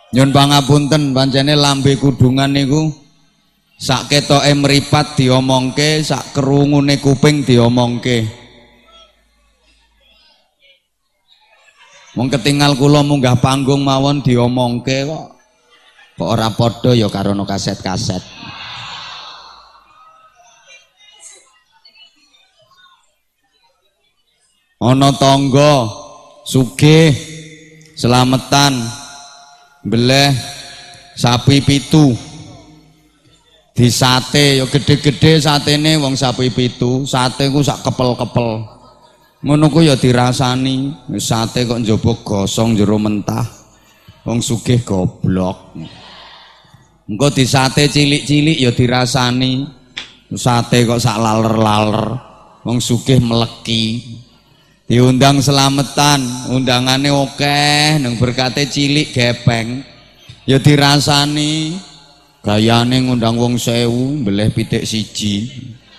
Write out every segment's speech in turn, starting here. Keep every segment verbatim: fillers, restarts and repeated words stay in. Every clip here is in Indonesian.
Nyun pangapunten pancene lambe kudungan niku sak ketoke mripat diomongke, sak kerungune kuping diomongke. Wong ketinggal kula munggah panggung mawon diomongke kok. Kok ora padha ya karo no kaset-kaset. Ana tangga sugih selametan beleh sapi pitu disate ya gede-gede satene wong sapi pitu, sate ku sak kepel-kepel. Ngono ku ya dirasani, sate kok njaba gosong jero mentah. Wong sugih goblok. Engko disate cilik-cilik ya dirasani, sate kok sak laler-laler. Wong sugih meleki. Diundang selametan, undangane akeh, nang berkate cilik gepeng. Ya dirasani. Gayane ngundang wong sewu, mbeleh pitik siji.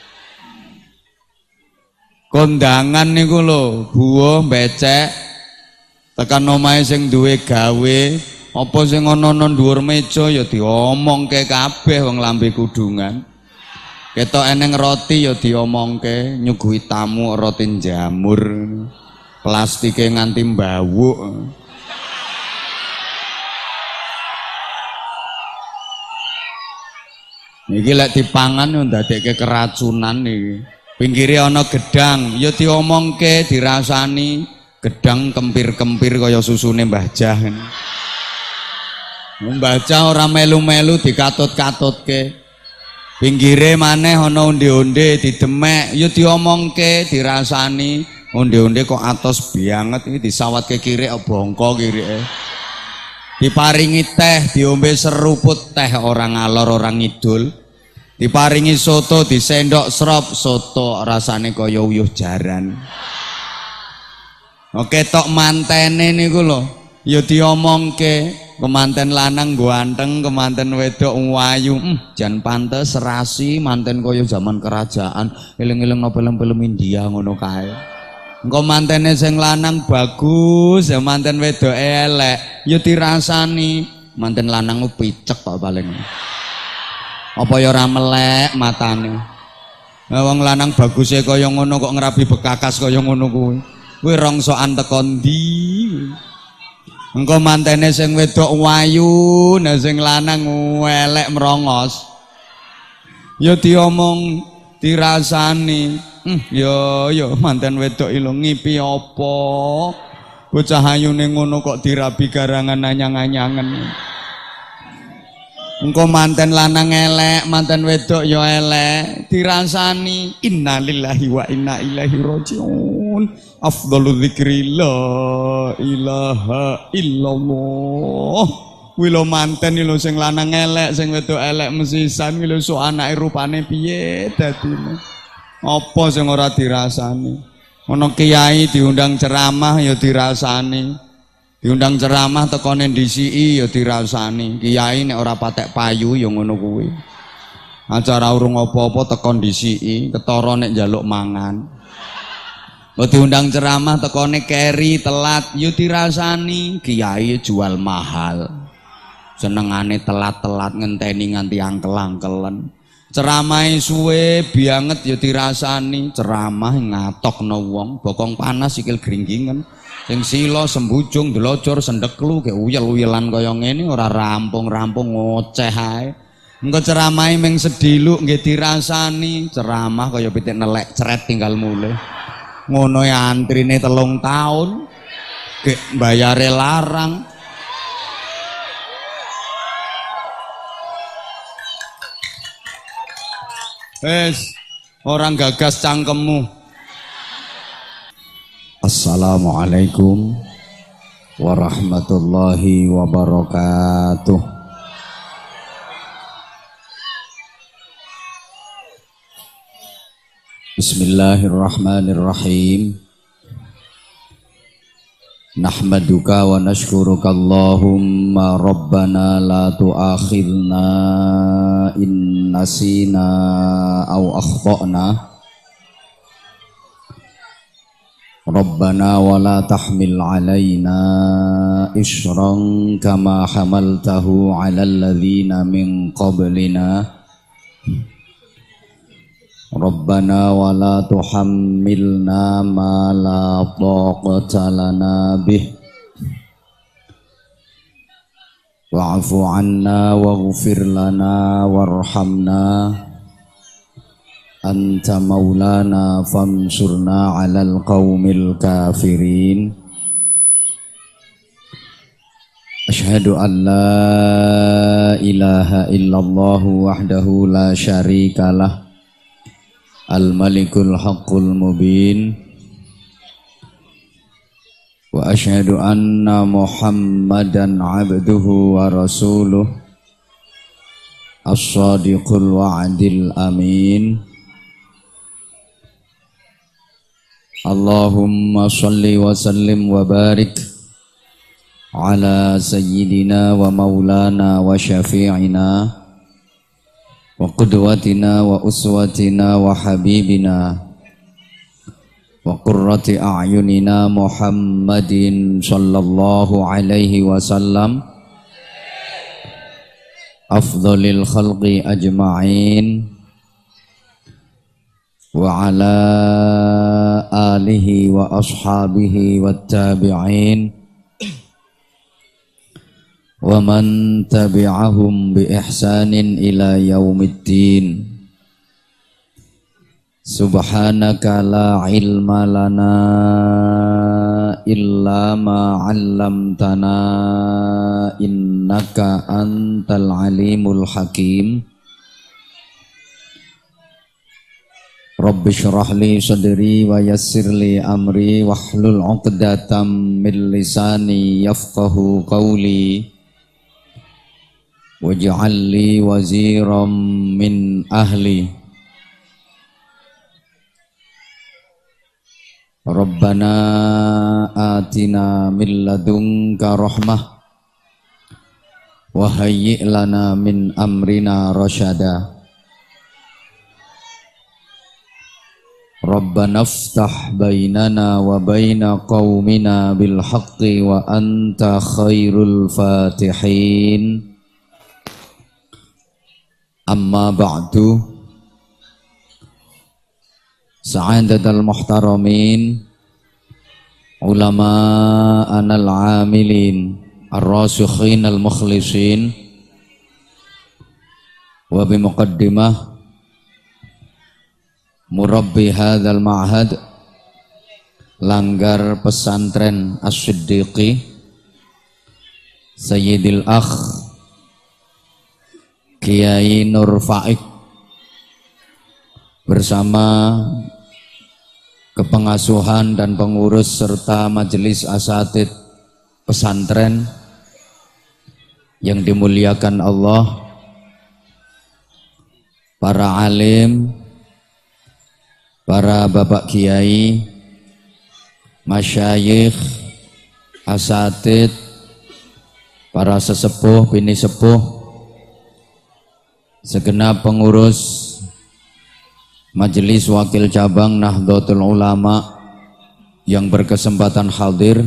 Kondangan niku lho, buah becek tekan omahe sing duwe gawe, apa sing ana nang dhuwur meja ya diomongke kabeh wong lambe kudungan. Ketok eneng roti ya diomongke, nyuguhi tamu roti jamur. Plastike nganti mbawuk. Niki lek dipangan yo ndadekke keracunan iki. Pinggire ana gedang, ya diomongke, dirasani. Gedang kempir-kempir kaya susune Mbah Jah. Mbah Jah ora melu-melu dikatut-katutke. Pinggire maneh ana onde-onde didemek, ya diomongke, dirasani. Onde-onde kok atos banget iki disawatke kirik bongko kirike. Diparingi teh, diombe seruput teh orang ngalor orang ngidul. Diparingi soto, disendok serop soto rasane kaya uyuh jaran. Oke tok mantene niku lho, ya diomongke, kemanten lanang ganteng, kemanten wedok wayu, hmm, jan pantes serasi manten kaya zaman kerajaan, eling-eling no film-film India ngono kae. Engko mantene sing lanang bagus, ya manten wedok elek, ya dirasani. Manten lanang ku picek kok paling. Apa ya ora melek matane. Lah wong lanang baguse kaya ngono kok ngrabi bekakas kaya ngono kuwi. Kuwi rongsokan teko ndi? Engko mantene sing wedok wayu, nah sing lanang elek merongos. Ya diomong, dirasani. Hmm, yo yo manten wedok ilo ngipi apa? Bocah ayune ngono kok dirabi garangan anyang-anyangen. Engko manten lanang elek, manten wedok yo elek, dirasani. Innalillahi wa inna ilaihi rajiun. Afdhalu dzikri la ilaha illallah. Kuwi lho manten lho sing lanang elek, sing wedok elek mesisan kuwi lho sok anake rupane piye dadine. Apa sing ora dirasani? Ana kiai diundang ceramah ya dirasani. Diundang ceramah tekone ndisiki ya dirasani. Kiai nek ora patek payu ya ngono kuwi. Acara urung apa-apa teko ndisiki, ketara nek njaluk mangan. Kok diundang ceramah tekone keri telat ya dirasani. Kiai jual mahal. Senengane telat-telat ngenteni nganti angkel-angkelen. Ceramai suwe bianget ya dirasani. Ceramah ngatokno wong, bokong panas sikil gringgingen. Sing sila sembujung delocor sendeklu ke uyel-uyelan kaya ngene ora rampung-rampung ngoceh ae. Engko ceramahe ming sediluk nggih dirasani. Ceramah kaya pitik nelek cret tinggal mulih. Ngono ya antrine telung taun. Gek bayare larang. Wes, orang gagas cangkemmu. Assalamualaikum warahmatullahi wabarakatuh. Bismillahirrahmanirrahim. Nahmaduka wa nashkuruka Allahumma rabbana la tu'akhidna in nasina aw akhtana. Rabbana wa la tahmil alaina isran kama hamaltahu ala alladhina min qablina Rabbana wa la tuhammilna ma la taqata lana bih wa'fu anna waghfir lana warhamna Anta maulana fansurna alal qawmil kafirin Ashhadu an la ilaha illallah wahdahu la syarikalah Al-malikul haqqul mubin Wa ashhadu anna muhammadan abduhu wa rasuluh As-sadiqul wa'adil amin Allahumma salli wa sallim wa barik ala sayyidina wa maulana wa syafi'ina wa qudwatina wa uswatina wa habibina wa qurrati a'yunina Muhammadin sallallahu alaihi wasallam afdhalil khalqi ajma'in wa ala alihi wa ashabihi wattabi'in wa man tabi'ahum bi ihsanin ila yaumiddin subhanaka la ilma lana illa ma 'allamtana innaka antal alimul hakim Rabbi syrah li sadri wa yassir li amri wahlul 'uqdatam min lisani yafqahu qawli waj'al li waziran min ahli Rabbana atina min ladunka rahmah wa hayyi' lana min amrina rasyada Rabbana iftah bainana wa baina qaumina bil haqqi wa anta khairul fatihin Amma ba'du Sa'adatal muhtaramin Ulama anal amilin Ar-rasikhin al-mukhlisin Wa bimuqaddimah Murabbi hadzal ma'had Langgar pesantren As-Siddiqi Sayyidil Akh Kiai Nur Faik bersama kepengasuhan dan pengurus serta majelis asatid pesantren yang dimuliakan Allah, para alim, para bapak kiai, masyayikh, asatid, para sesepuh, bini sepuh, segenap pengurus Majelis Wakil Cabang Nahdlatul Ulama yang berkesempatan hadir,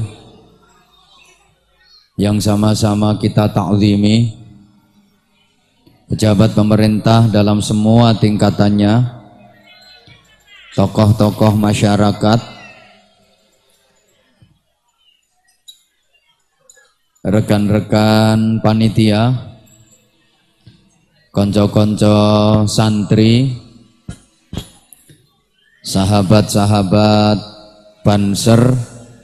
yang sama-sama kita ta'zimi, pejabat pemerintah dalam semua tingkatannya, tokoh-tokoh masyarakat, rekan-rekan panitia, konco-konco santri, sahabat-sahabat Banser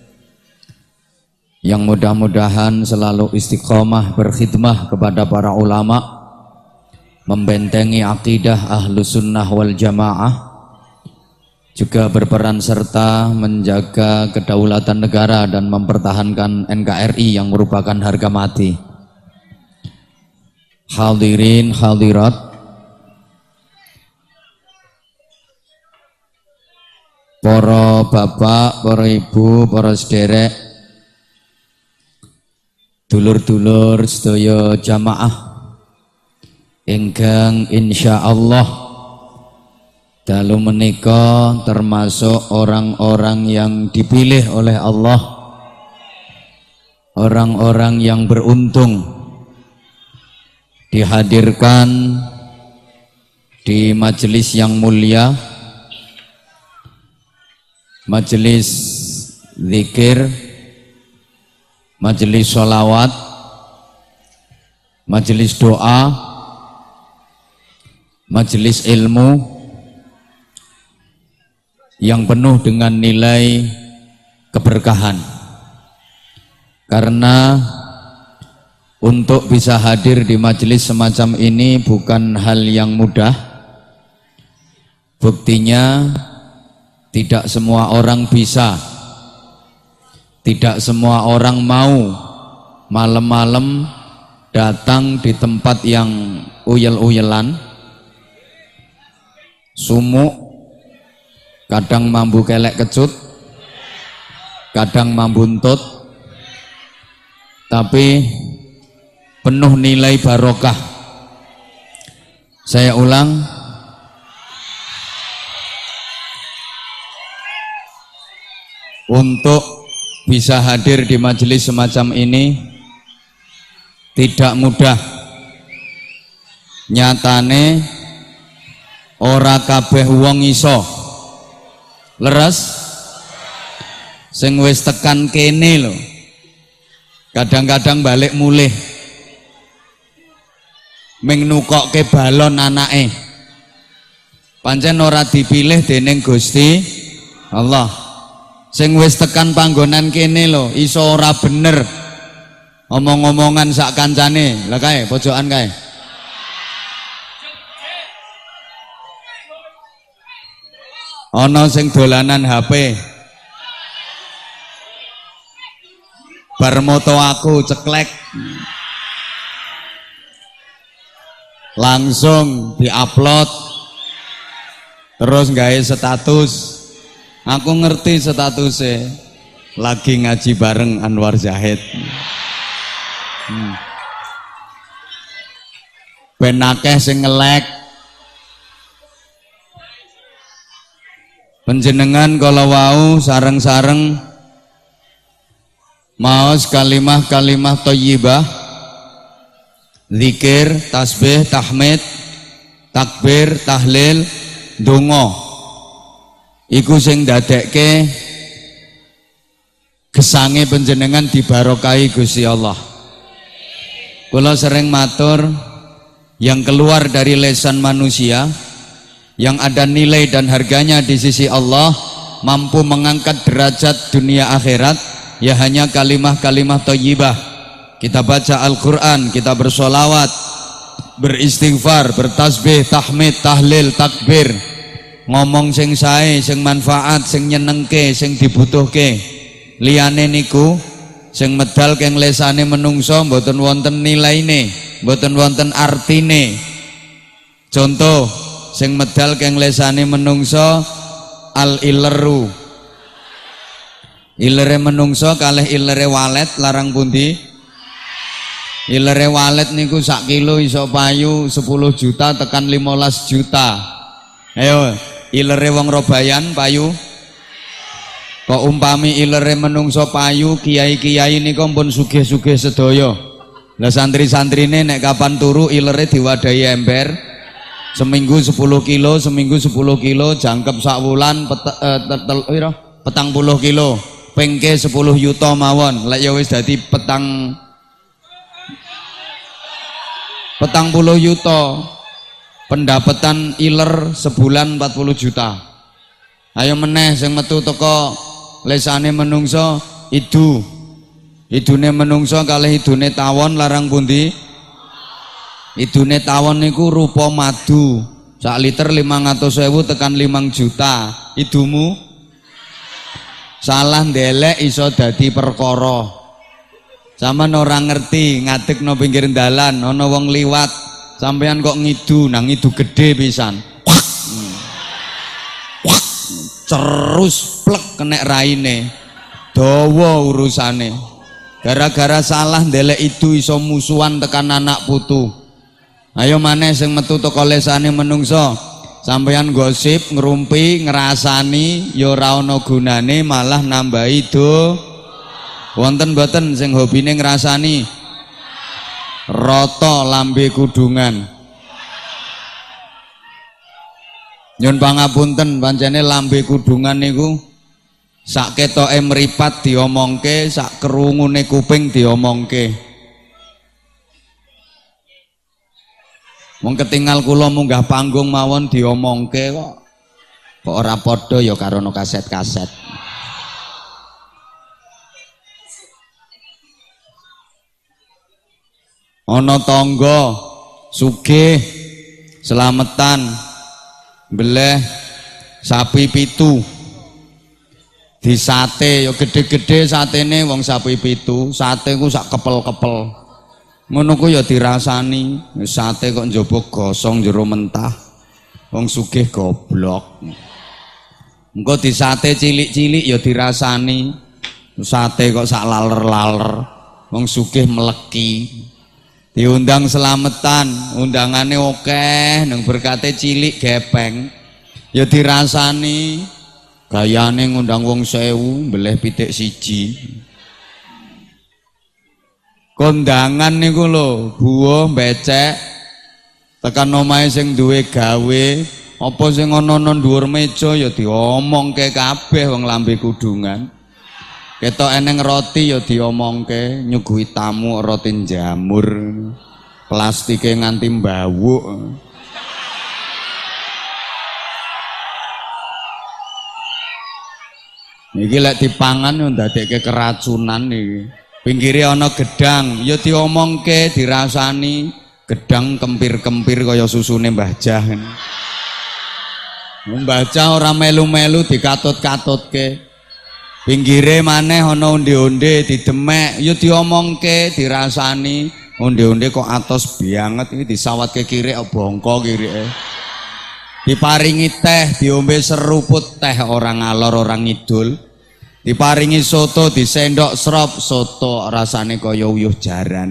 yang mudah-mudahan selalu istiqomah berkhidmah kepada para ulama, membentengi akidah Ahlus Sunnah wal Jamaah, juga berperan serta menjaga kedaulatan negara dan mempertahankan N K R I yang merupakan harga mati. Hadirin hadirat, para bapak, para ibu, para sederek, dulur-dulur sedaya jamaah ingkang insyaallah dalu menika termasuk orang-orang yang dipilih oleh Allah, orang-orang yang beruntung dihadirkan di majelis yang mulia, majelis zikir, majelis sholawat, majelis doa, majelis ilmu yang penuh dengan nilai keberkahan. Karena untuk bisa hadir di majelis semacam ini bukan hal yang mudah. Buktinya tidak semua orang bisa, tidak semua orang mau malam-malam datang di tempat yang uyel-uyelan, sumuk, kadang mambu kelek kecut, kadang mambu untut, tapi penuh nilai barokah. Saya ulang, untuk bisa hadir di majelis semacam ini tidak mudah. Nyatane ora kabeh wong iso. Leres sing wis tekan kene lho, kadang-kadang balik mulih ming nukokke balon anake, pancen ora dipilih dening Gusti Allah. Sing wis tekan panggonan kene lho iso ora bener omong-omongan sak kancane. Lah kae pojokan kae, ana sing dolanan H P, bar moto aku ceklek langsung diupload terus gawe status. Aku ngerti statusnya lagi ngaji bareng Anwar Zahid. hmm. Ben akeh sing ngelek. Penjenengan kalau wau sareng-sareng maos kalimah-kalimah thayyibah, zikir, tasbih, tahmid, takbir, tahlil, donga, iku sing dadekke gesange penjenengan dibarokahi Gusti Allah. Kula sering matur, yang keluar dari lisan manusia yang ada nilai dan harganya di sisi Allah, mampu mengangkat derajat dunia akhirat, ya hanya kalimah-kalimah thayyibah. Kita baca Al-Quran, kita bersolawat, beristighfar, bertasbih, tahmid, tahlil, takbir, ngomong sing sae, sing manfaat, sing nyenengke, sing dibutuhke. Liyane niku sing medal keng lesane menungso mboten wonten nilaine, mboten wonten artine. Contoh, sing medal keng lesane menungso al ileru, ilere menungso kalih ilere walet larang pundi? Ilere walet niku sak kilo iso payu sepuluh juta tekan limolas juta. Ayo, ilere wong Robayan payu. Kok umpami ilere menungso payu, kiai-kiai niku pun sugih-sugih sedaya. Lah santri-santrine nek kapan turu ilere diwadahi ember. Seminggu sepuluh kilo, seminggu sepuluh kilo, jangkep sak wulan pet, eh, tel, tel, petang puluh kilo, pengke sepuluh yuto mawon. Lek ya wis dadi petang petang puluh yuto, pendapatan iler sebulan empat puluh juta. Ayo meneh sing metu teko lesane menungso idu, idune menungso kalih idune tawon larang pundi? Idune tawon niku rupa madu, sak liter limang atus ewu tekan limang juta. Idumu salah ndelek iso dadi perkara. Sampeyan ora ngerti, ngadeg no pinggir dalan, ana wong liwat, sampeyan kok ngidu, nang ngidu gede pisan. Hmm. Terus plek kenek raine. Dawa urusane. Gara-gara salah ndelek itu iso musuhan tekan anak putu. Ayo maneh sing metu teko lesane menungso Sampeyan gosip, ngerumpi, ngerasani, ya ora ana gunane malah nambahi do. Wonten mboten sing hobine ngrasani? Rata lambe kudungan. Nyun pangapunten pancene lambe kudungan niku sak ketoke mripat diomongke, sak kerungune kuping diomongke. Wong ketinggal kula munggah panggung mawon diomongke kok. Kok ora padha ya karo no kaset-kaset. Ana tangga sugih selametan beleh sapi pitu. Disate ya gede-gede satene wong sapi pitu, sate ku sak kepel-kepel. Ngono ku ya dirasani, sate kok njaba gosong jero mentah. Wong sugih goblok. Engko disate cilik-cilik ya dirasani, sate kok sak laler-laler. Wong sugih meleki. Diundang selametan, undangane akeh, nang berkate cilik gepeng. Ya dirasani. Gayane ngundang wong sewu, mbeleh pitik siji. Kondangan niku lho, buah becek tekan omahe sing duwe gawe, apa sing ana nang dhuwur meja ya diomongke kabeh wong lambe kudungan. Ketok eneng roti ya diomongke, nyuguhi tamu roti jamur. Plastike nganti mbawuk. Niki lek dipangan yo ndadekke keracunan iki. Pinggire ana gedang, ya diomongke, dirasani, gedang kempir-kempir kaya susune Mbah Jah. Mbah Jah ora melu-melu dikatut-katutke. Pinggire maneh ana onde-onde didemek, ya diomongke, dirasani, onde-onde kok atos banget iki disawatke kirik bongko kirike. Diparingi teh, diombe seruput teh orang ngalor orang ngidul. Diparingi soto disendok serop soto rasane kaya uyuh jaran.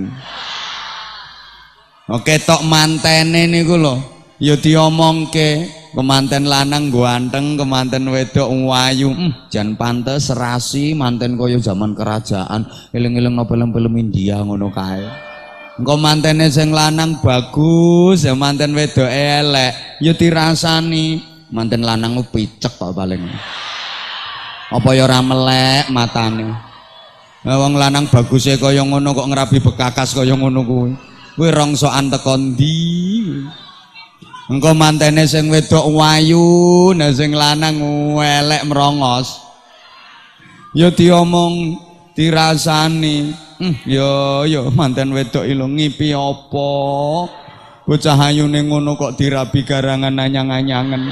Oke tok mantene niku lho ya diomongke, kemanten lanang ganteng, kemanten wedok wayu. Hmm, jan pantes serasi manten kaya zaman kerajaan. Eling-eling no film-film India ngono kae. Engko mantene sing lanang bagus, ya manten wedok elek, ya dirasani. Manten lanang picek kok paling. Apa ya ora melek matane. Lah wong lanang baguse kaya ngono kok ngrabi bekakas kaya ngono kuwi. Kuwi rongsokan teko ndi? Engko mantene sing wedok wayu, nah sing lanang elek merongos. Ya diomong, dirasani. Hmm, ya ya manten wedok ilo ngipi apa? Bocah ayune ngono kok dirabi garangan anyang-anyangen.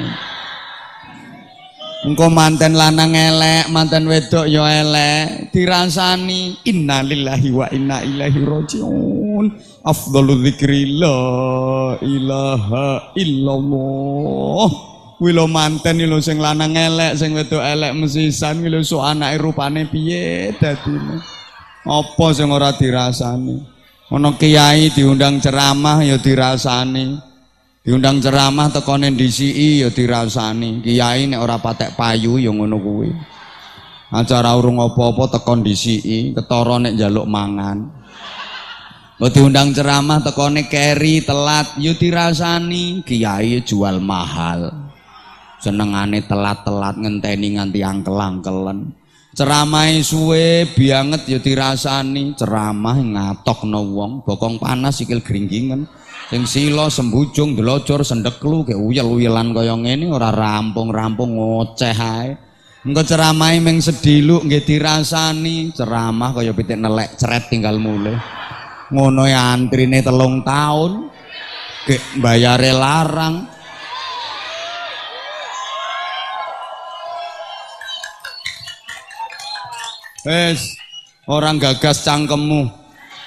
Engko manten lanang elek, manten wedok ya elek, dirasani. Innalillahi wa inna ilaihi rajiun. Afdhalul dzikri la ilaha illallah. Kuwi lho manten lho sing lanang elek, sing wedok elek mesisan kuwi lho sok anake rupane piye dadine. Apa sing ora dirasani? Ana kiai diundang ceramah ya dirasani. Diundang ceramah tekone ndisiki ya dirasani. Kiai nek ora patek payu ya ngono kuwi. Acara urung apa-apa tekon ndisiki, ketara nek njaluk mangan. Kok diundang ceramah tekone keri telat ya dirasani. Kiai jual mahal. Senengane telat-telat ngenteni nganti angkel-angkelen. Ceramahe suwe bianget ya dirasani. Ceramah ngatokno wong, bokong panas sikil gringgingen. Sing sila sembujung delocor sendeklu ke uyel-uyelan kaya ngene ora rampung-rampung ngoceh ae. Engko ceramahe ming sediluk nggih dirasani, ceramah kaya pitik nelek ceret tinggal mulih. Ngono ya antrine telung taun. Gek bayare larang. Wes, orang gagas cangkemmu.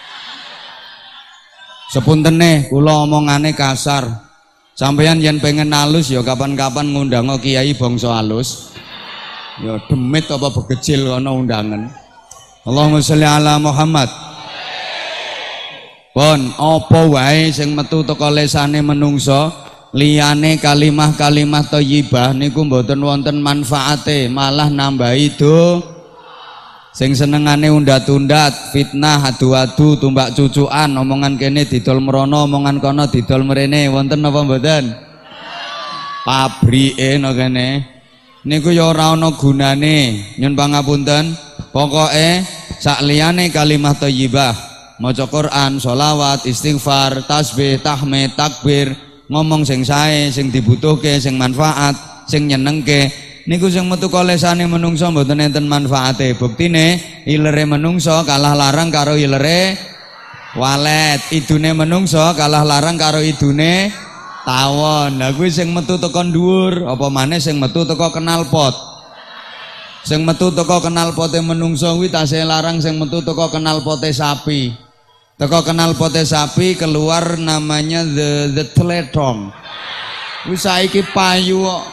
Sepuntene kula omongane kasar. Sampeyan yen pengen halus ya kapan-kapan ngundang kiai bangsa halus. Ya demit apa begecil ana undangan. Allahumma sholli ala Muhammad. Pun apa wae sing metu teko lesane menungso liyane kalimah-kalimah thayyibah niku mboten wonten manfaate, malah nambahi do. Sing senengane undat-undat, fitnah, adu-adu, tumbak cucukan, omongan kene didol merono, omongan kono didol mrene, wonten napa mboten? Pabrike no kene. Niku ya ora ana gunane. Nyun pangapunten. Pokoke sak liyane kalimah thayyibah, maca Quran, sholawat, istighfar, tasbih, tahmid, takbir, ngomong sing sae, sing dibutuhke, sing manfaat, sing nyenengke. Niku sing metu kolesane menungso mboten enten manfaate. Buktine ilere menungso kalah larang karo ilere walet, idune menungso kalah larang karo idune tawon. Lah kuwi sing metu teko dhuwur, apa maneh sing metu teko knalpot. Sing metu teko knalpote menungso kuwi tasih larang sing metu teko knalpote sapi. Teko knalpote sapi keluar namanya the the teletong. Wis saiki payu kok.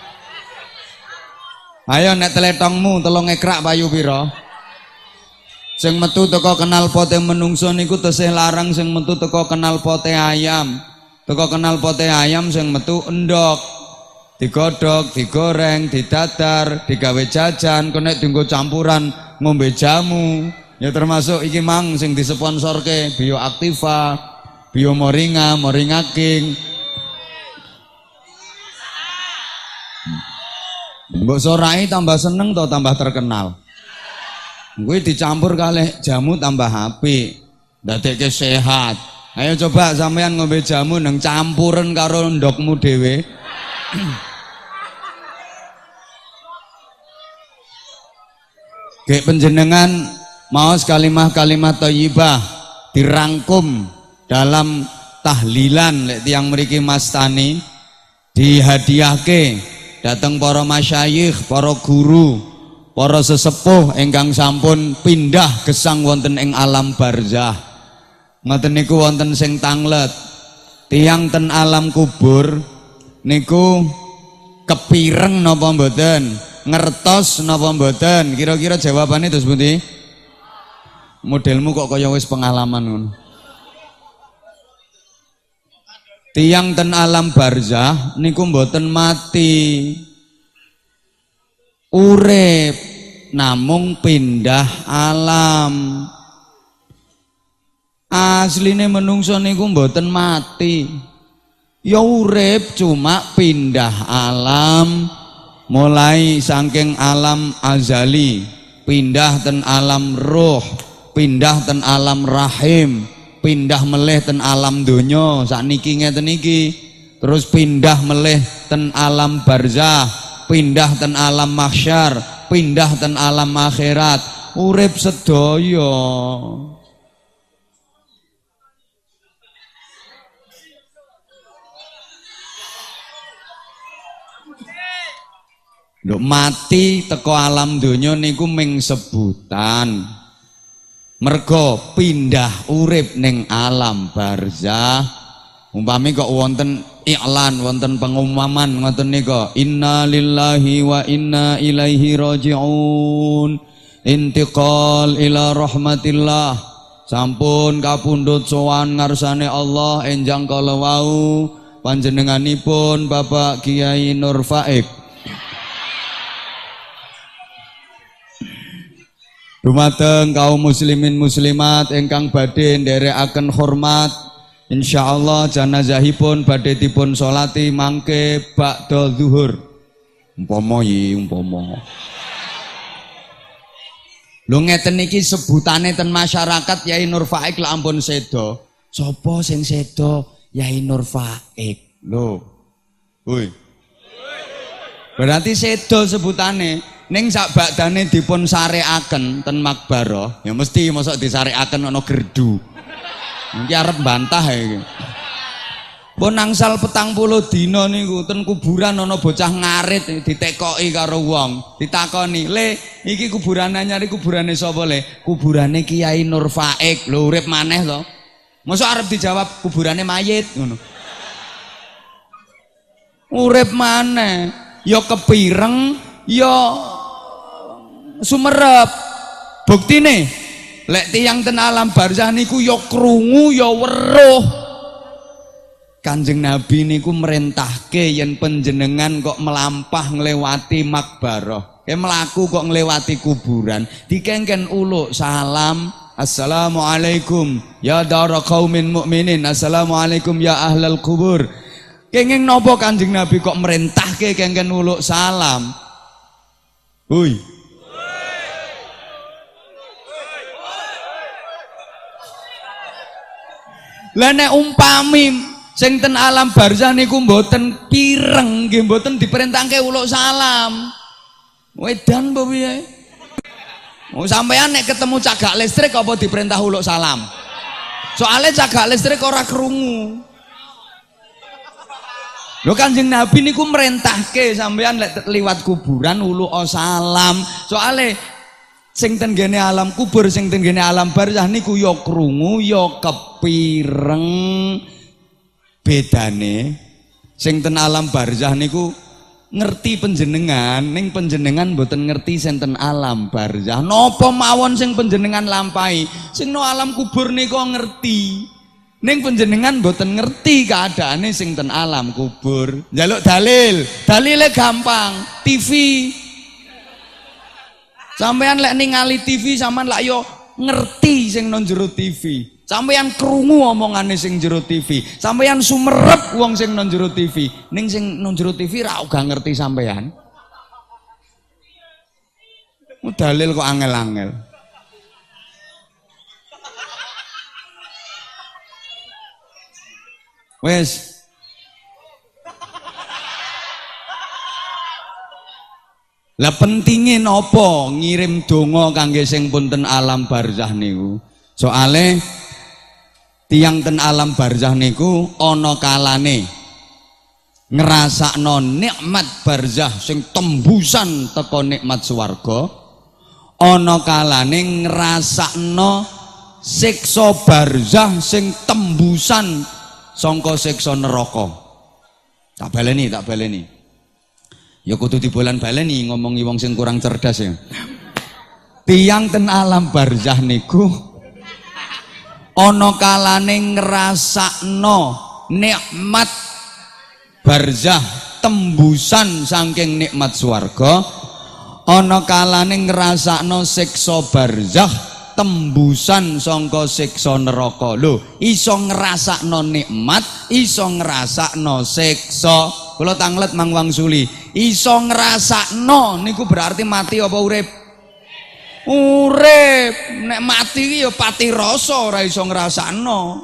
Ayo nek teletongmu telung ekrak payu pira? Sing metu teko knalpote menungso niku tesih larang sing metu teko knalpote ayam. Teko knalpote ayam sing metu endok. Digodhog, digoreng, didadar, digawe jajan, kena dienggo campuran ngombe jamu. Ya termasuk iki mang sing disponsorke Bioaktiva, Biomoringa, Moringa King. Mbok sorai tambah seneng to tambah terkenal. Kuwi dicampur kalih jamu tambah apik, ndadekke sehat. Ayo coba sampean ngombe jamu nang campuren karo ndokmu dhewe. Gek penjenengan maos kalimah-kalimah thayyibah dirangkum dalam tahlilan lek tiyang mriki mastani dihadiahke dateng para masyayikh, para guru, para sesepuh ingkang sampun pindah gesang wonten ing alam barzah. Ngoten niku wonten sing tanglet. Tiyang ten alam kubur niku kepireng napa mboten? Ngertos napa mboten? Kira-kira jawabane terus pundi? Modelmu kok kaya wis pengalaman ngono. Tiang ten alam barzah niku mboten mati, urip namung pindah alam. Asline menungso niku mboten mati, ya urip cuma pindah alam, mulai saking alam azali pindah ten alam roh, pindah ten alam rahim, pindah meleh ten alam donya sakniki ngeten iki, terus pindah meleh ten alam barzah, pindah ten alam mahsyar, pindah ten alam akhirat, urip sedaya. Lho mati teko alam donya niku ming sebutan. Mergo pindah urip ning alam barzah. Umpami kok wonten iklan, wonten pengumuman ngoten nika, inna lillahi wa inna ilaihi raji'un, intiqal ila rahmatillah, sampun kapundhut sowan ngarsane Allah enjang kala wau panjenenganipun Bapak Kiai Nur Faik. Dumateng kaum muslimin muslimat ingkang badhe nderekaken hormat, insyaallah janazahipun badhe dipun sholati mangke ba'da zuhur. Umpama yi umpama. Lho ngeten iki sebutane ten masyarakat Yai Nur Faik lah ampun sedo. Sapa sing sedo? Yai Nur Faik. Lho. Woi. Berarti sedo sebutane. Ning sak badane dipun sarekaken ten makbarah, ya mesti mosok disarekaken ana gerdu. Iki arep bantah iki. Pun angsal petang puluh dina niku ten kuburan ana bocah ngarit ditekoki karo wong, ditakoni, "Le, iki kuburan anyar iki kuburane sapa, Le?" "Kuburane Kiai Nur Faik." Lho urip maneh to. Mosok arep dijawab kuburane mayit ngono. Urip maneh, ya kepireng, ya sumerep. Buktine lek tiyang ten alam barzah niku ya krungu ya weruh. Kanjeng Nabi niku merintahke yen panjenengan kok melampah nglewati makbarah, ke melaku kok nglewati kuburan, dikengken uluk salam, assalamualaikum ya dara qaumin mukminin, assalamualaikum ya ahlal kubur. Kenging napa Kanjeng Nabi kok merintahke kengken uluk salam? Hui. Lah nek umpami sing ten alam barzah niku mboten pireng, nggih mboten diperintahke uluk salam. Wedan apa piye? Oh sampean nek ketemu cagak listrik apa diperintah uluk salam? Soale cagak listrik ora krungu. Lho Kanjeng Nabi niku merintahke sampean lek liwat kuburan uluk salam. Soale sing ten gene alam kubur, sing ten gene alam barzah niku ya krungu ya kepireng. Bedane sing ten alam barzah niku ngerti panjenengan, ning panjenengan mboten ngerti senten alam barzah. Napa mawon sing panjenengan lampahi, sing no alam kubur niku ngerti. Ning panjenengan mboten ngerti keadaane sing ten alam kubur. Njaluk dalil, dalile gampang, T V. Sampeyan lek ningali T V sampean lak yo ngerti sing nang jero T V. Sampeyan krungu omongane sing jero T V. Sampeyan sumerep wong sing nang jero T V. Ning sing nang jero T V ra uga ngerti sampeyan. Dalil kok angel-angel. Wes. Lah pentinge napa ngirim donga kangge sing punten alam barzah niku? Soale tiang ten alam barzah niku ana kalane ngrasakno nikmat barzah sing tembusan teko nikmat swarga, ana kalane ngrasakno siksa barzah sing tembusan sangka siksa neraka. Tak baleni, tak baleni. Ya kudu dibolan baleni ngomongi wong sing kurang cerdas ya. Tiang ten alam barzah niku ana kalane ngrasakno nikmat barzah tembusan saking nikmat swarga, ana kalane ngrasakno siksa barzah tembusan sangka siksa neraka. Lho, iso ngrasakno nikmat, iso ngrasakno siksa. Kula tanglet Mang Wangsuli, iso ngrasakno niku berarti mati apa urip? Urip. Nek mati iki ya pati rasa, ora iso ngrasakno.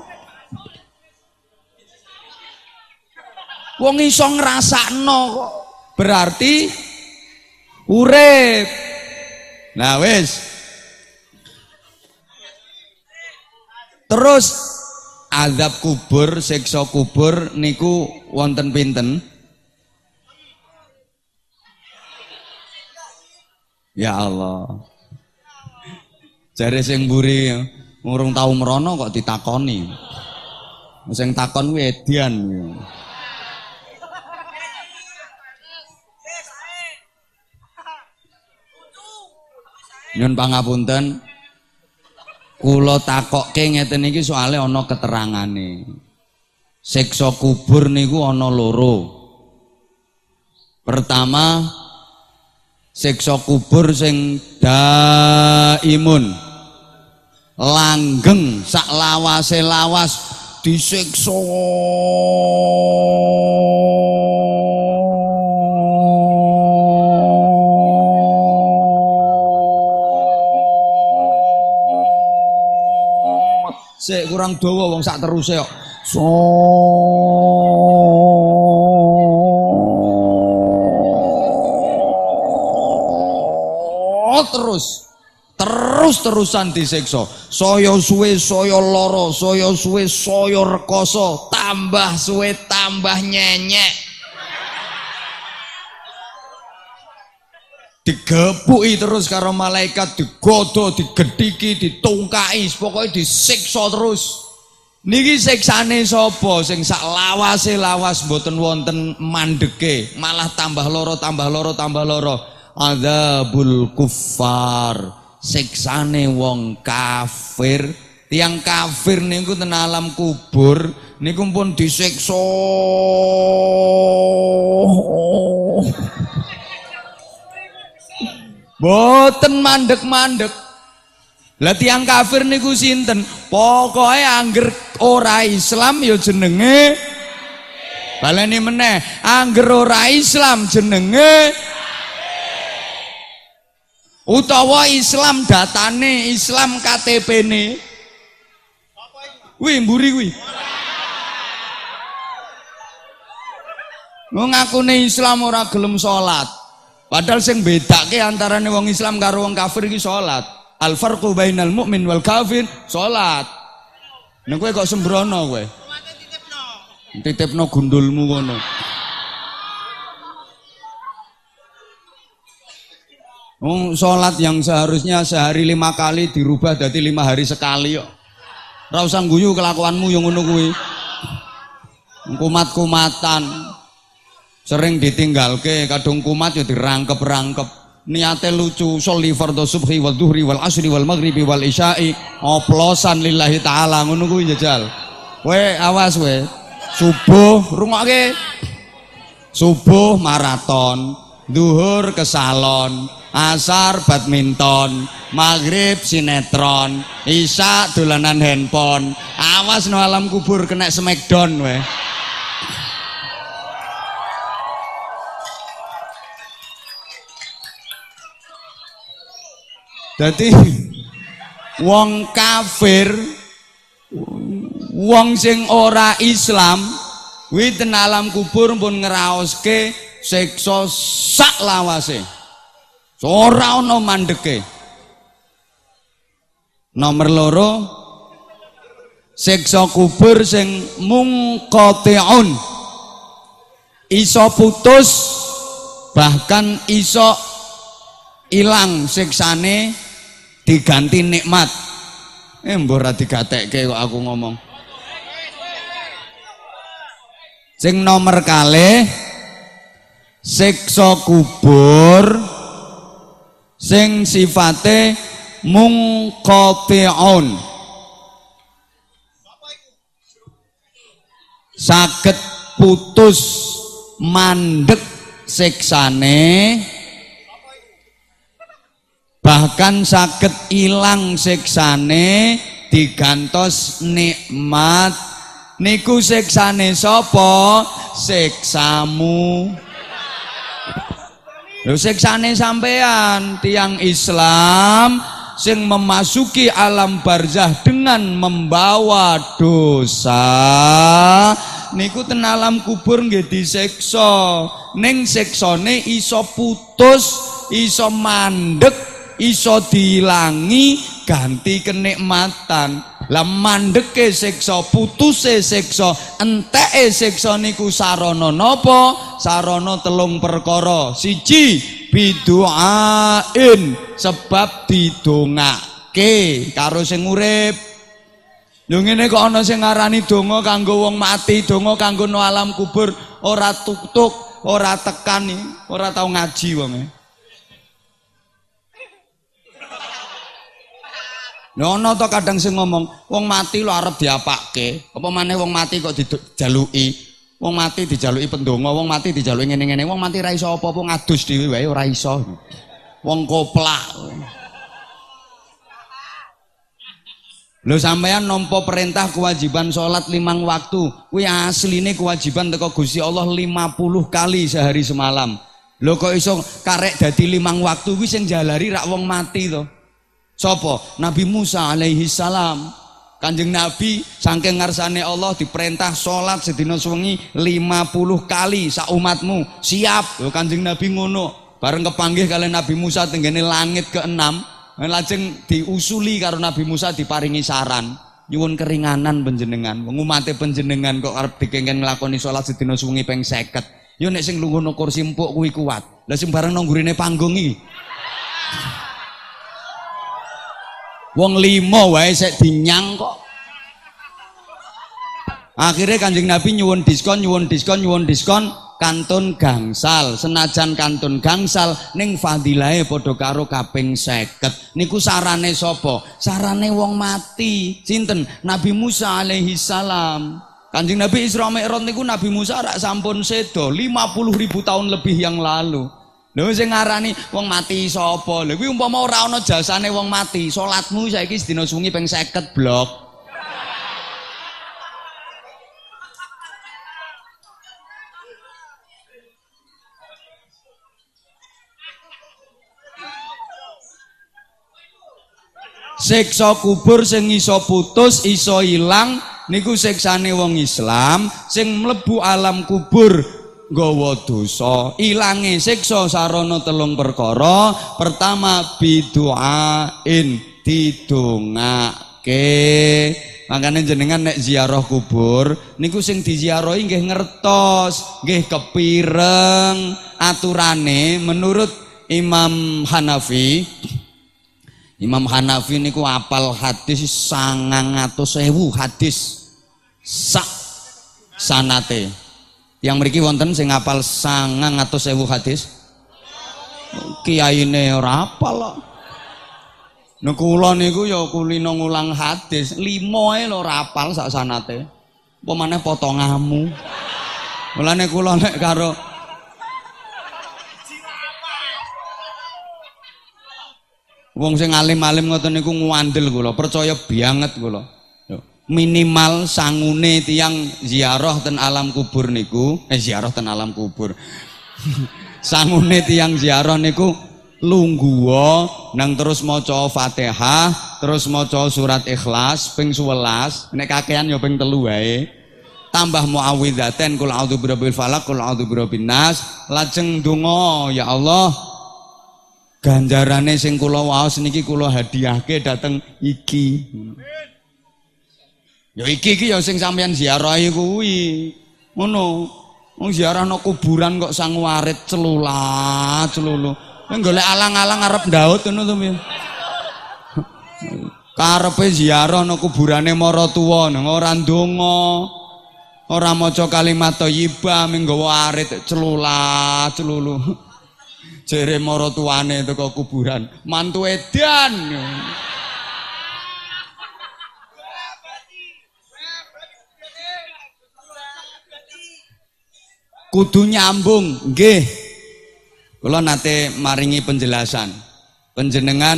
Wong iso ngrasakno kok berarti urip. Nah wis. Terus azab kubur, siksa kubur niku wonten pinten? Ya Allah. Jare sing mburi ngurung tau merono kok ditakoni. Sing takon kuwi edian. Nyun pangapunten. Kula takokke ngeten iki soalé ana keterangane. Siksa kubur niku ana loro. Pertama, siksa kubur sing daimun, langgeng sak lawase lawas disiksa. Sik kurang dawa wong sak teruse kok. So terus terus-terusan disiksa. Saya suwe saya lara, saya suwe saya rekoso, tambah suwe tambah nyenyek. Digepuki terus karo malaikat, digodo, digedhiki, ditungkai, pokoknya disiksa terus. Niki siksane sapa sing sak lawase lawas mboten wonten mandeke, malah tambah loro, tambah loro, tambah loro. Adzabul kuffar, siksane wong kafir. Tiang kafir niku ten alam kubur niku pun disiksa. Boten mandek-mandek. Lah tiyang kafir niku sinten? Pokoke angger ora Islam ya jenenge baleni meneh, angger ora Islam jenenge utawa Islam datane, Islam K T P-ne. Wih, mburi kuwi. Wong ngakune Islam ora gelem salat. Padahal sing bedake antarane wong Islam karo wong kafir iki salat. Al farqu bainal mu'min wal kafir salat. Nek kowe kok sembrono kowe. Titipno gundulmu ngono. Oh, salat yang seharusnya sehari lima kali dirubah jadi lima hari sekali kok. Ora usah guyu kelakuanmu yang ngono kuwi. Kumat-kumatan. Sering ditinggalke, kadung kumat ya dirangkep-rangkep. Niate lucu, sholli fardhu subhi wal dhuhri wal asri wal maghribi wal isya'i. Oplosan lillahi taala ngono kuwi jajal. Kowe awas kowe. Subuh rungokke. Subuh maraton, zuhur ke salon, asar badminton, maghrib sinetron, isya dolanan handphone. Awas no alam kubur kena smackdown weh. Dadi wong kafir, wong sing ora Islam, kuwi ten alam kubur pun ngraoske siksa sak lawase. Ora ana mandeke. Nomor loro, siksa kubur sing mungqati'un. Iso putus bahkan iso ilang siksane diganti nikmat. Eh mbok ora digatekke kok aku ngomong. Sing nomor kalih siksa kubur sing sifate mungqati'un. Saged putus mandek siksane bahkan saged ilang siksane digantos nikmat. Niku siksane sapa? Siksamu. Lho siksane sampean tiang Islam sing memasuki alam barzah dengan membawa dosa niku ten alam kubur nggih disiksa. Ning siksane iso putus, iso mandek, iso diilangi ganti kenikmatan. Lah mandeke siksa, putuse siksa, enteke siksa niku sarana napa? Sarana telung perkara. Siji biduain, sebab didongake karo sing urip. Lho ngene kok ana sing ngarani donga kanggo wong mati, donga kanggo no alam kubur, ora tuk-tuk, ora tekan, ora tau ngaji wonge. Lho ana to kadang sing ngomong, wong mati lho arep diapake. Apa maneh wong mati kok dijaluki. Wong mati dijaluki pendonga, wong mati dijaluki ngene-ngene. Wong mati ra iso apa-apa ngadus dhewe wae ora iso. Wong koplak. Lho sampeyan nampa perintah kewajiban salat limang waktu. Kuwi asline kewajiban teko Gusti Allah lima puluh kali sehari semalam. Lho kok iso karek dadi limang waktu kuwi sing jalari rak wong mati to. Sopo? Nabi Musa alaihi salam. Kanjeng Nabi saking ngarsane Allah diperintah sholat sedina sewengi lima puluh kali sak umatmu. Siap. Lho Kanjeng Nabi ngono. Bareng kepanggih kalian Nabi Musa tenggene langit keenam, lajeng diusuli karo Nabi Musa diparingi saran. Nyuwun keringanan panjenengan. Wong umate panjenengan kok arep dikengken nglakoni sholat sedina sewengi ping seket. Yo nek sing lungguh kursi empuk kuwi kuat. Lah sing bareng nang gurine panggung iki. Wong limo wae sik dinyang kok. Akhirnya Kanjeng Nabi nyuwun diskon, nyuwun diskon, nyuwun diskon kantun gangsal. Senajan kantun gangsal ning fadilahe padha karo kaping seket. Niku sarane sapa? Sarane wong mati. Sinten? Nabi Musa alaihi salam. Kanjeng Nabi Isra Mi'raj niku Nabi Musa rak sampun sedo lima puluh ribu tahun lebih yang lalu. Lha sing ngarani wong mati sapa? Lha kuwi umpama ora ana jasane wong mati, salatmu saiki sedina sungi ping seket blok. Siksa kubur sing iso putus, iso ilang niku siksane wong Islam sing mlebu alam kubur nggawa dosa. Ilange siksa sarana telung perkara. Pertama biduain, didongake. Makanya jenengan nek ziarah kubur niku sing diziarahi nggih ngertos, nggih kepireng aturane menurut Imam Hanafi. Imam Hanafi niku apal hadis sangang atus ewu hadis sak sanate. Yang mriki wonten sing apal sangang atus ewu hadis. Kiyaine ora apal kok. Nek kula niku ya kulino ngulang hadis, lima ae lho ora apal sak sanate. Apa maneh potonganmu. Mulane kula nek karo wong sing alim-alim ngoten niku ngandel kula, percaya banget kula. Minimal sangune tiyang ziarah ten alam kubur niku, eh ziarah ten alam kubur. Sangune tiyang ziarah niku lungguha nang terus maca Fatihah, terus maca surat Ikhlas ping sewelas, nek kakean ya ping telu wae. Tambah muawwidzaten qul a'udzu birabbil falaq, qul a'udzu birabbin nas, lajeng donga ya Allah ganjarane sing kula waos niki kula hadiahke dateng iki. Ya iki iki ya sing sampeyan ziarahi kuwi. Ngono. Wong ziarah nang kuburan kok sang warit celulat celulu. Nek golek alang-alang arep ndaut ngono to piye. Karepe ziarah nang kuburane maratuwa nang ora ndonga. Ora maca kalimat thayyibah ming nggawa arit celulat celulu. Jere maratuwane teko kuburan, mantu edan. Kudu nyambung, nggih. Kula nate maringi penjelasan. Panjenengan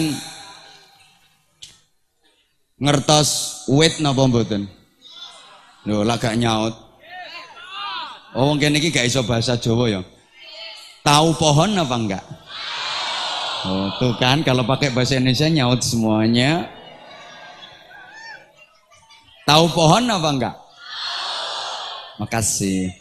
ngertos wit napa mboten? Lho, lagak nyaut. Oh, wong kene iki gak iso bahasa Jawa ya. Tahu pohon apa enggak? Oh, tuh kan kalau pakai bahasa Indonesia nyaut semuanya. Tahu pohon apa enggak? Makasih.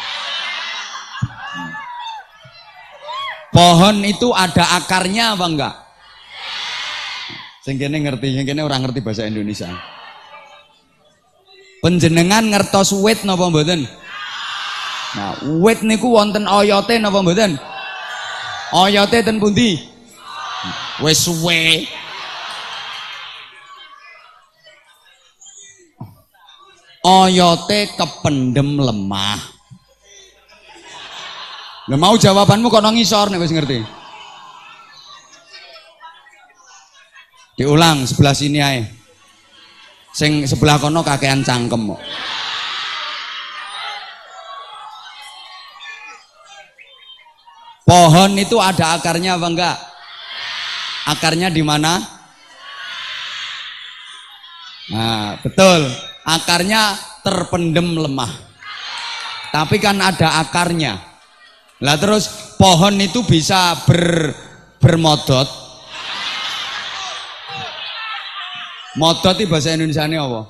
Pohon itu ada akarnya apa enggak? Sing kene ngerti, sing kene ora ngerti bahasa Indonesia. Panjenengan ngertos wit napa mboten? Nah, wit niku wonten oyote napa mboten? Oyote ten pundi? Wis suwe. Oyote kependem lemah. Lah mau jawabanmu kono ngisor nek wis ngerti. Diulang sebelah sini ae. Sing sebelah kono kakean cangkem kok. Pohon itu ada akarnya apa enggak? Akarnya di mana? Nah, betul. Akarnya terpendem lemah. Tapi kan ada akarnya. Lah terus pohon itu bisa ber, bermodot. Modot itu bahasa Indonesianya apa?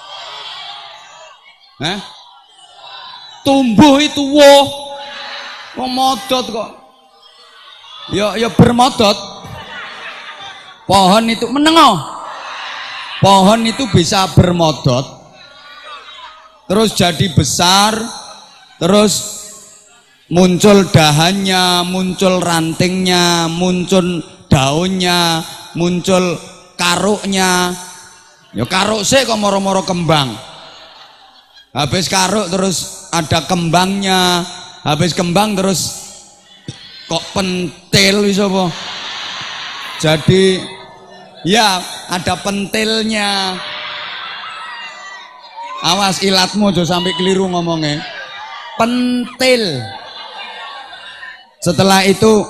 Hah? Tumbuh itu woh. Kok modot kok? Ya ya bermodot. Pohon itu menengok. Pohon itu bisa bermodot. Terus jadi besar, terus muncul dahannya, muncul rantingnya, muncul daunnya, muncul karuknya. Ya karuk sih kok moro-moro kembang. Habis karuk terus ada kembangnya. Habis kembang terus kok pentil bisa apa? Jadi ya ada pentilnya. Awas ilatmu aja sampai keliru ngomongnya. Pentil. Setelah itu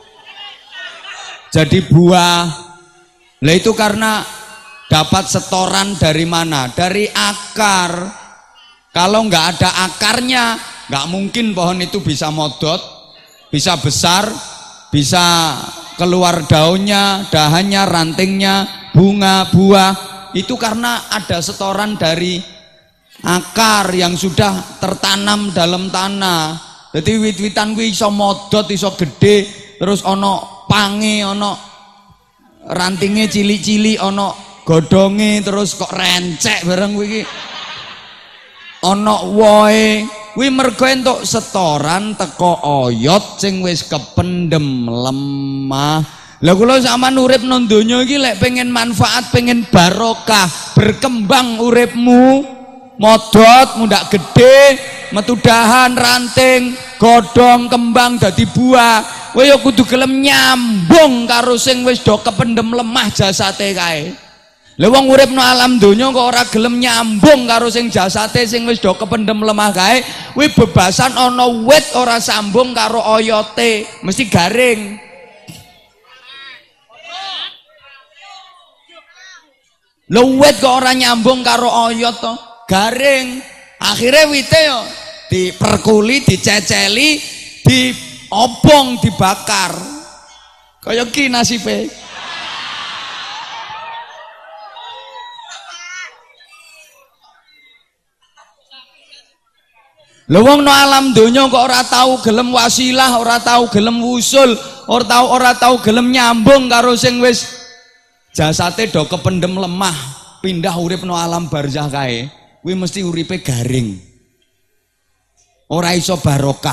jadi buah. Lah itu karena dapat setoran dari mana? Dari akar. Kalau nggak ada akarnya, nggak mungkin pohon itu bisa modot, bisa besar, bisa keluar daunnya, dahannya, rantingnya, bunga, buah. Itu karena ada setoran dari akar yang sudah tertanam dalam tanah. Jadi wit-witan kuwi iso modot, iso gede, terus ono pange, ono rantingnya cili-cili, ono godonge, terus kok rencek bareng kuwi. Ono woe, kuwi mergo entuk setoran teko oyot sing wis kependem lemah. Lah kula sampean urip nang donya iki lek pengen manfaat, pengen barokah, berkembang uripmu, modot, mundak gede, metu dahan, ranting, godhong, kembang dadi buah. Kowe ya kudu gelem nyambung karo sing wis do kependem lemah jasate kae. Lah wong urip nang alam donya kok ora gelem nyambung karo sing jasate sing wis do kependem lemah kae, kuwi bebasan ana wit ora sambung karo oyote, mesti garing. Lho wit kok ora nyambung karo oyot to, garing. Akhirnya wite yo diperkuli, diceceli, diobong, dibakar. Kaya ki nasibe. Lha wong no alam donya kok ora tahu gelem wasilah, ora tahu gelem wusul, ora tahu ora tahu gelem nyambung karo sing wis jasate do kependem lemah, pindah urip no alam barzah kae, kuwi mesti uripe garing. Ora iso barokah.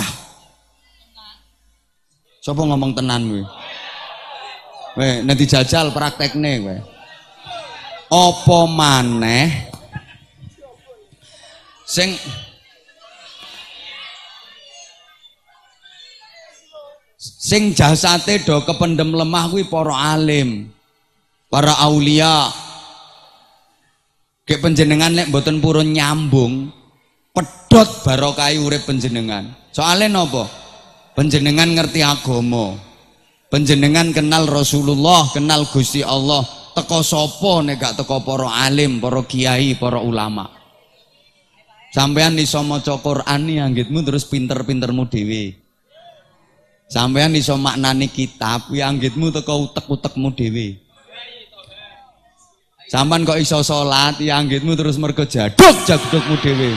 Sapa ngomong tenan kuwi? Weh, nanti jajal praktekne kowe. Apa maneh sing sing jasate do kependem lemah kuwi para alim, para aulia. Kek panjenengan lek mboten purun nyambung, pedhot barokah urip panjenengan. Soale napa? Panjenengan ngerti agama. Panjenengan kenal Rasulullah, kenal Gusti Allah. Teko sapa nek gak teko para alim, para kiai, para ulama. Sampean iso maca Quran anggitmu terus pinter-pintermu dhewe. Sampean iso maknani kitab kuwi anggitmu teko utek-utekmu dhewe. Sampean kok iso salat ya anggitmu terus mergo jaduk jadukmu dhewe.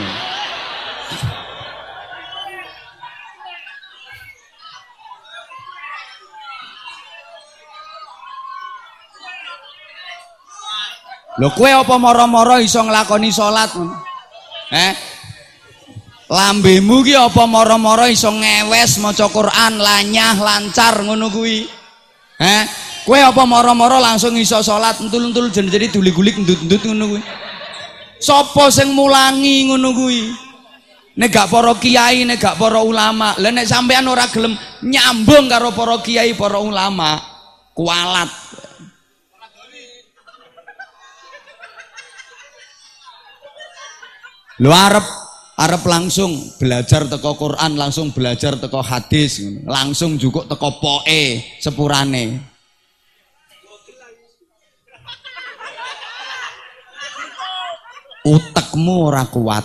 Lho kowe apa mara-mara iso nglakoni salat? Eh? Lambemu ki apa mara-mara iso ngewes maca Quran lanyah lancar ngono kuwi? Eh? Kowe apa mara-mara langsung iso salat entul-entul jadi duli-gulik ndut-ndut ngono kuwi? Sapa sing mulangi ngono kuwi? Nek gak para kiai, nek gak para ulama. Lah nek sampean ora gelem nyambung karo para kiai, para ulama, kualat. Lu arep arep langsung belajar teko Quran, langsung belajar teko hadis, langsung juga teko poe sepurane. Utekmu ora kuat.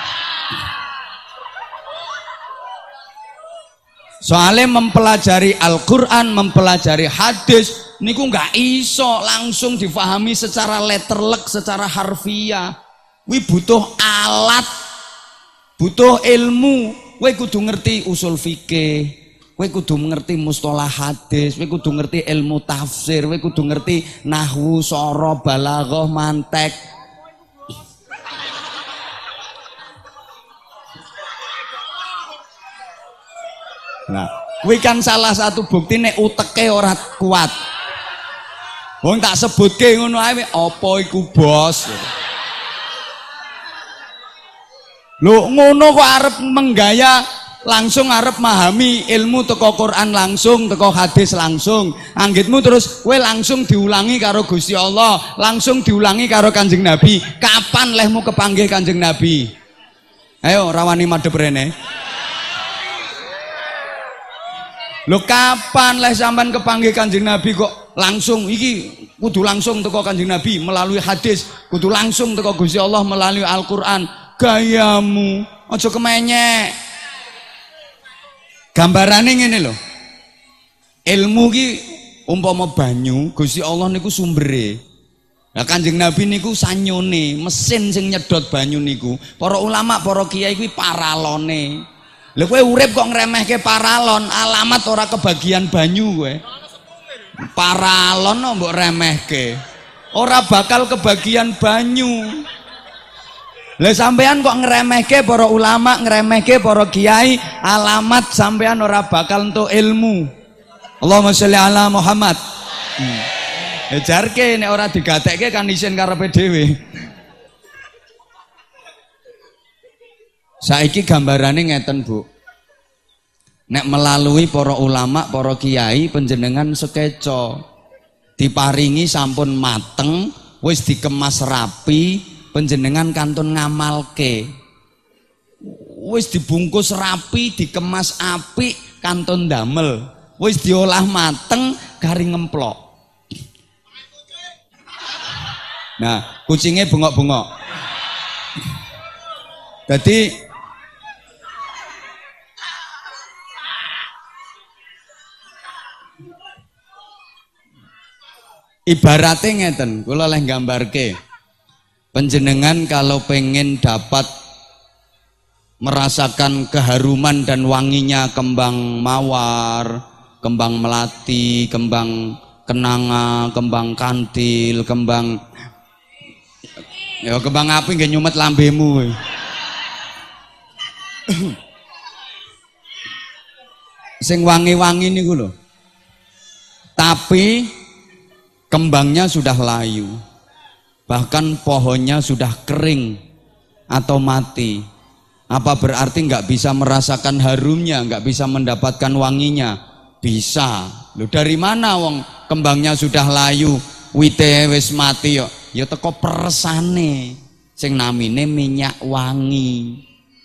Soalnya mempelajari Al-Quran, mempelajari hadis, niku nggak iso langsung difahami secara letterlek, secara harfiah. Wi butuh alat, butuh ilmu. Kowe kudu ngerti usul fikih, kowe kudu ngerti mustalah hadis, kowe kudu ngerti ilmu tafsir, kowe kudu ngerti nahwu, soroh, balaghah, mantek. Nah, kuwi kan salah satu bukti nek uteke ora kuat. Wong tak sebutke ngono ae apa iku bos. Lho ngono kok arep menggaya langsung arep memahami ilmu teko Quran langsung, teko hadis langsung. Anggitmu terus kowe langsung diulangi karo Gusti Allah, langsung diulangi karo Kanjeng Nabi. Kapan lehmu kepanggih Kanjeng Nabi? Ayo rawani madhep rene. Lho kapan leh sampean kepanggih Kanjeng Nabi kok langsung iki kudu langsung teko Kanjeng Nabi melalui hadis, kudu langsung teko Gusti Allah melalui Al-Qur'an. Gayamu aja kemenyek. Gambarane ngene lho. Ilmu ki umpama banyu, Gusti Allah niku sumbere. Lah Kanjeng Nabi niku sanyone, mesin sing nyedot banyu niku. Para ulama, para kiai kuwi paralone. Lha kowe urip kok ngremehke paralon, alamat ora kebagian banyu kowe. Paralon mbok remehke. Ora bakal kebagian banyu. Lah sampean kok ngremehke para ulama, ngremehke para kiai, alamat sampean ora bakal entuk ilmu. Allahumma sholli ala Muhammad. Hmm. Ya jarke nek ora digatekke kan isin karepe dhewe. Saiki gambarane ngeten, Bu. Nek melalui para ulama, para kiai panjenengan sekeca diparingi sampun mateng, wis dikemas rapi, panjenengan kantun ngamalke, wis dibungkus rapi, dikemas apik, kantun damel, wis diolah mateng, garing ngemplok. Nah, kucingnya bengok-bengok. Jadi ibaratnya ngeten, kula leh gambarke. Panjenengan kalau pengen dapat merasakan keharuman dan wanginya kembang mawar, kembang melati, kembang kenanga, kembang kantil, kembang ya kembang api nggak nyumet lambemu. Sing wangi-wangi niku lho. Tapi kembangnya sudah layu. Bahkan pohonnya sudah kering atau mati. Apa berarti nggak bisa merasakan harumnya, nggak bisa mendapatkan wanginya? Bisa. Loh dari mana wong kembangnya sudah layu, wite wis mati yo? Ya teko persane sing namine minyak wangi.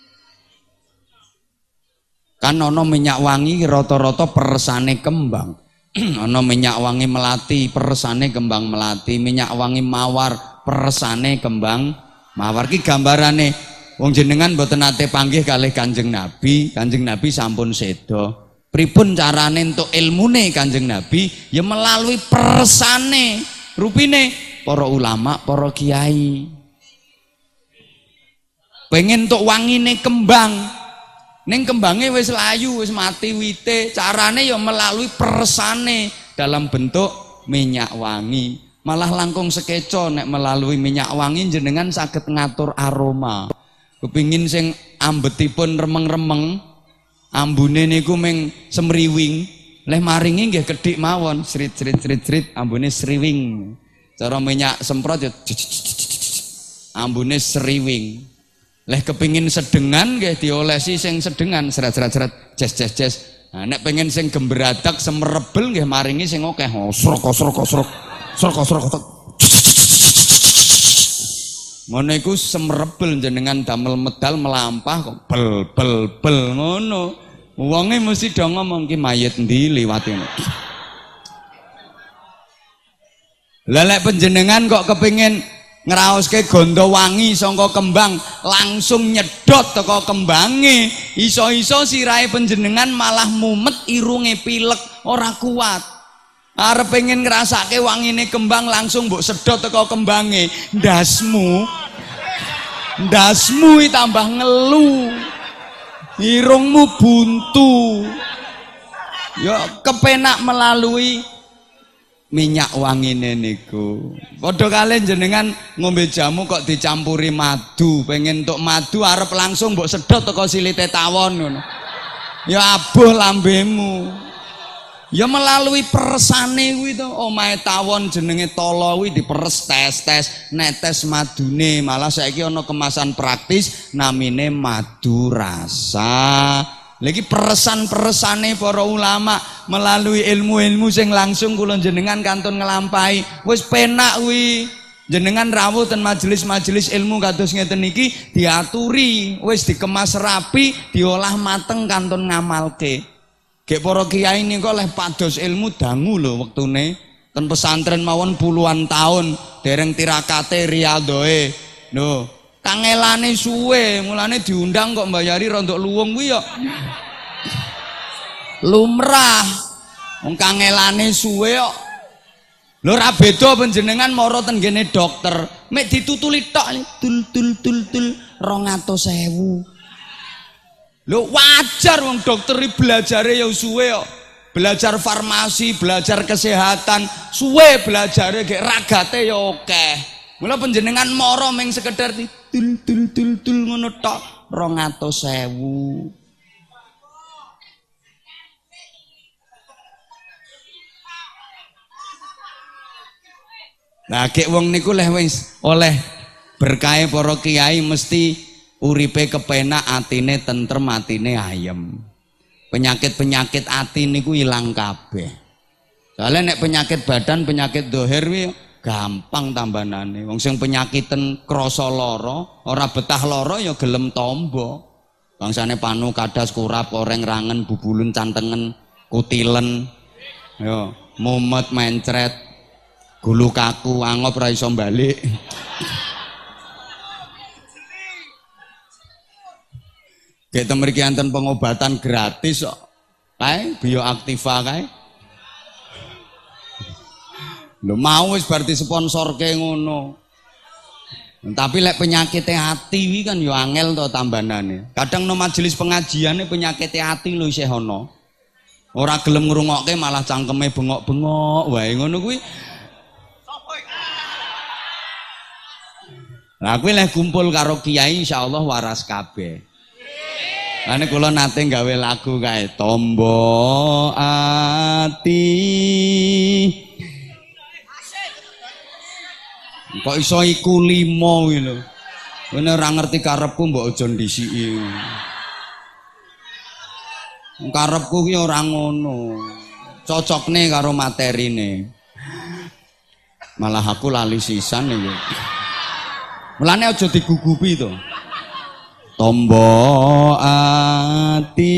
Kan ono minyak wangi rata-rata persane kembang. Ono minyak wangi melati, persane kembang melati, minyak wangi mawar persane kembang mawar. Ki gambarane wong jenengan mboten nate panggih kalih Kanjeng Nabi, Kanjeng Nabi sampun sedo. Pripun carane entuk ilmune Kanjeng Nabi? Ya melalui persane, rupine para ulama, para kiai. Pengen entuk wangine kembang, ning kembange wis layu, wis mati wite, carane ya melalui persane dalam bentuk minyak wangi. Malah langkung sekeco nek melalui minyak wangi jenengan saged ngatur aroma. Kepingin sing ambetipun remeng-remeng, ambune niku ming semriwing, leh maringi nggih kedhik mawon, srit srit srit srit ambune sriwing. Cara minyak semprot ya ambune sriwing. Leh kepingin sedengan nggih diolesi sing sedengan, seret-seret-seret jes jes jes. Nah nek pengen sing gemberadak semerebel nggih maringi sing akeh, srok srok srok. Srok srok srok. Ngono iku semerebel jenengan damel medal melampah kok bel bel bel ngono. Wonge mesti do ngomong ki mayit ndi liwat ngono. Lah lek panjenengan kok kepengin ngraoske gondo wangi saka kembang langsung nyedot teko kembange, iso-iso sirahe panjenengan malah mumet, irunge pilek, ora kuat. Arep pengen ngrasake wangine kembang langsung mbok sedot teko kembange, ndasmu ndasmu tambah ngelu, irungmu buntu. Ya kepenak melalui minyak wangine niku. Padha kalih jenengan ngombe jamu kok dicampuri madu, pengen entuk madu arep langsung mbok sedot teko silite tawon ngono. Ya abuh lambemu. Ya melalui persane kuwi to, omahe tawon jenenge tolo kuwi diperes tes-tes, netes madune. Malah saiki ana kemasan praktis namine madu rasa. Lagi peresan-peresane para ulama melalui ilmu-ilmu sing langsung kula jenengan kantun ngelampahi. Wis penak kuwi. Jenengan rawuh ten majelis-majelis ilmu kados ngeten iki diaturi, wis dikemas rapi, diolah mateng kantun ngamalke. Gek para kiai niku oleh pados ilmu dangu lho wektune. Ten pesantren mawon puluhan tahun dereng tirakate riyadoe. Lho, kangelane suwe, mulane diundang kok mbayari rondok luwung kuwi ya. Lumrah. Wong kangelane suwe kok. Lho ra beda panjenengan mara ten ngene dokter, mek ditutuli tok tul tul tul tul dua ratus ribu. Lho wajar wong dokter iki belajare ya suwe kok. Belajar farmasi, belajar kesehatan, suwe belajare gek ragate ya akeh. Mula panjenengan mara ming sekedar tul tul tul tul ngono tok dua ratus ribu. Nah, gek wong niku leh wis oleh berkahe para kiai mesti uripe kepenak, atine tentrem, atine ayem. Penyakit-penyakit ati niku ilang kabeh. Soalnya nek penyakit badan, penyakit dohir wi gampang tambanane. Wong sing penyakiten krasa lara, ora betah lara ya gelem tombo. Bangsane panu, kadas, kurap, koreng, rangen, bubulun, cantengen, kutilen. Yo, mumet, mencret, gulu kaku, angop ra iso balik. Kayak temeriki enten pengobatan gratis kok. Kae bioaktiva kae. Lho mau wis berarti sponsorke ngono. Tapi lek penyakit hati wi kan yo angel to tambanane. Kadang no majelis pengajiane penyakit hati lho isih ana. Ora gelem ngrungokke malah cangkeme bengok-bengok wae ngono kuwi. Lah kuwi lek kumpul karo kiai insyaallah waras kabeh. Ane kula nate gawe lagu kae tombo ati. Kok iso iku limo kuwi lho. Kowe ora ngerti karepku mbok aja ndisiki. Karepku ki ora ngono. Cocokne karo materine. Malah aku lali sisan iki. Mulane aja digugupi to. Tombo ati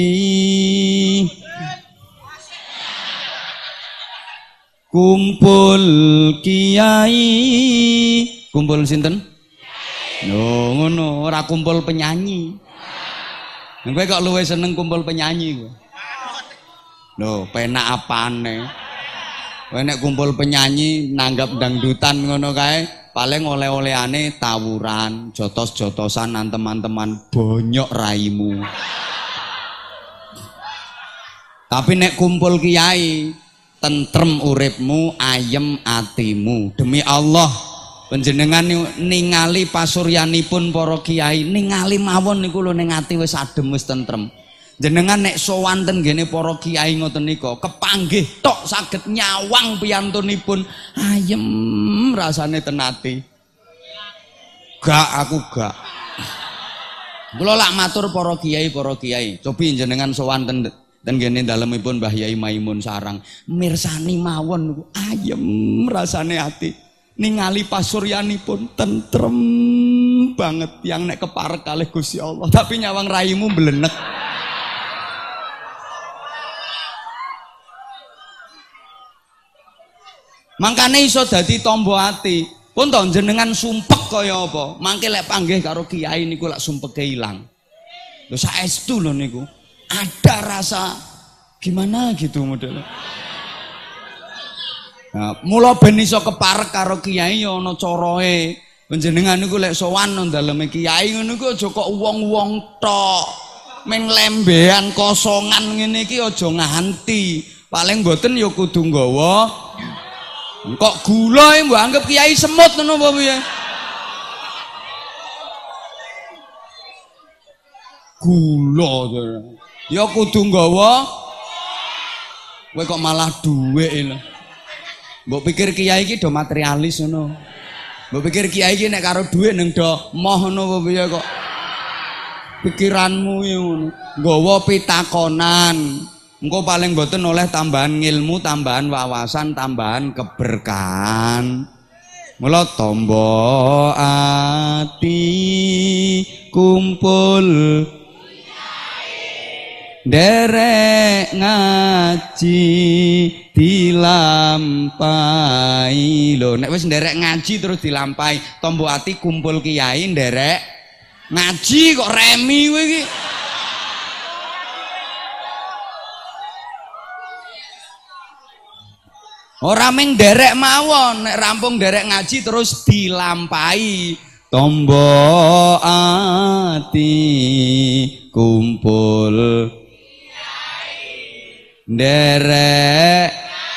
kumpul kiai, kumpul sinten? No, ngono, ora kumpul penyanyi. Kowe kok luwih seneng kumpul penyanyi kowe. Lho, penak apane? Kowe nek kumpul penyanyi nanggap dangdutan ngono kae. Paling oleh-olehane tawuran, jotos-jotosan teman-teman bonyok raimu. Tapi nek kumpul kiai, tentrem uripmu, ayem atimu. Demi Allah, panjenengan ningali pasuryanipun para kiai, ningali mawon niku lho ning ati wis adem wis tentrem. Jenengan nek sowan ten ngene para kiai ngoten nika kepanggih tok saged nyawang piyantunipun ayem rasane ten ati. Gak aku gak. Kula lak matur para kiai para kiai, cobi jenengan sowan ten ten ngene dalemipun Mbah Yai Maimun Sarang, mirsani mawon niku ayem rasane ati. Ningali pasuryanipun tentrem banget yang nek keparek kalih Gusti Allah, tapi nyawang raimu mblenek. Mangkane iso dadi tombo ati. Pun to jenengan sumpek kaya apa? Mangke lek panggih karo kiai niku lak sumpeke ilang. Lho saestu lho niku. Ada rasa gimana gitu modelnya. Nah, mula ben iso keparek karo kiai ya ana carae. Panjenengan niku lek sowan nang daleme kiai ngono ku aja kok wong-wong tok. Ming lembean kosongan ngene iki aja nganti. Paling mboten ya kudu nggawa kok gula mbok anggap kiai semut ngono apa piye? Gula ya kudu nggawa. Kowe kok malah dhuwit lho. Mbok pikir kiai iki do materialis ngono. Mbok pikir kiai iki nek karo dhuwit nang do moh ngono apa piye kok. pikiranmu ngono. Nggawa pitakonan. Engko paling mboten oleh tambahan ilmu, tambahan wawasan, tambahan keberkahan. Mula tombo ati kumpul derek ngaji dilampahi. Lho nek wis nderek ngaji terus dilampahi, tombo ati kumpul kiai nderek ngaji kok remi kowe iki. Ora ming derek mawon, nek rampung derek ngaji terus dilampahi. Tombo ati kumpul derek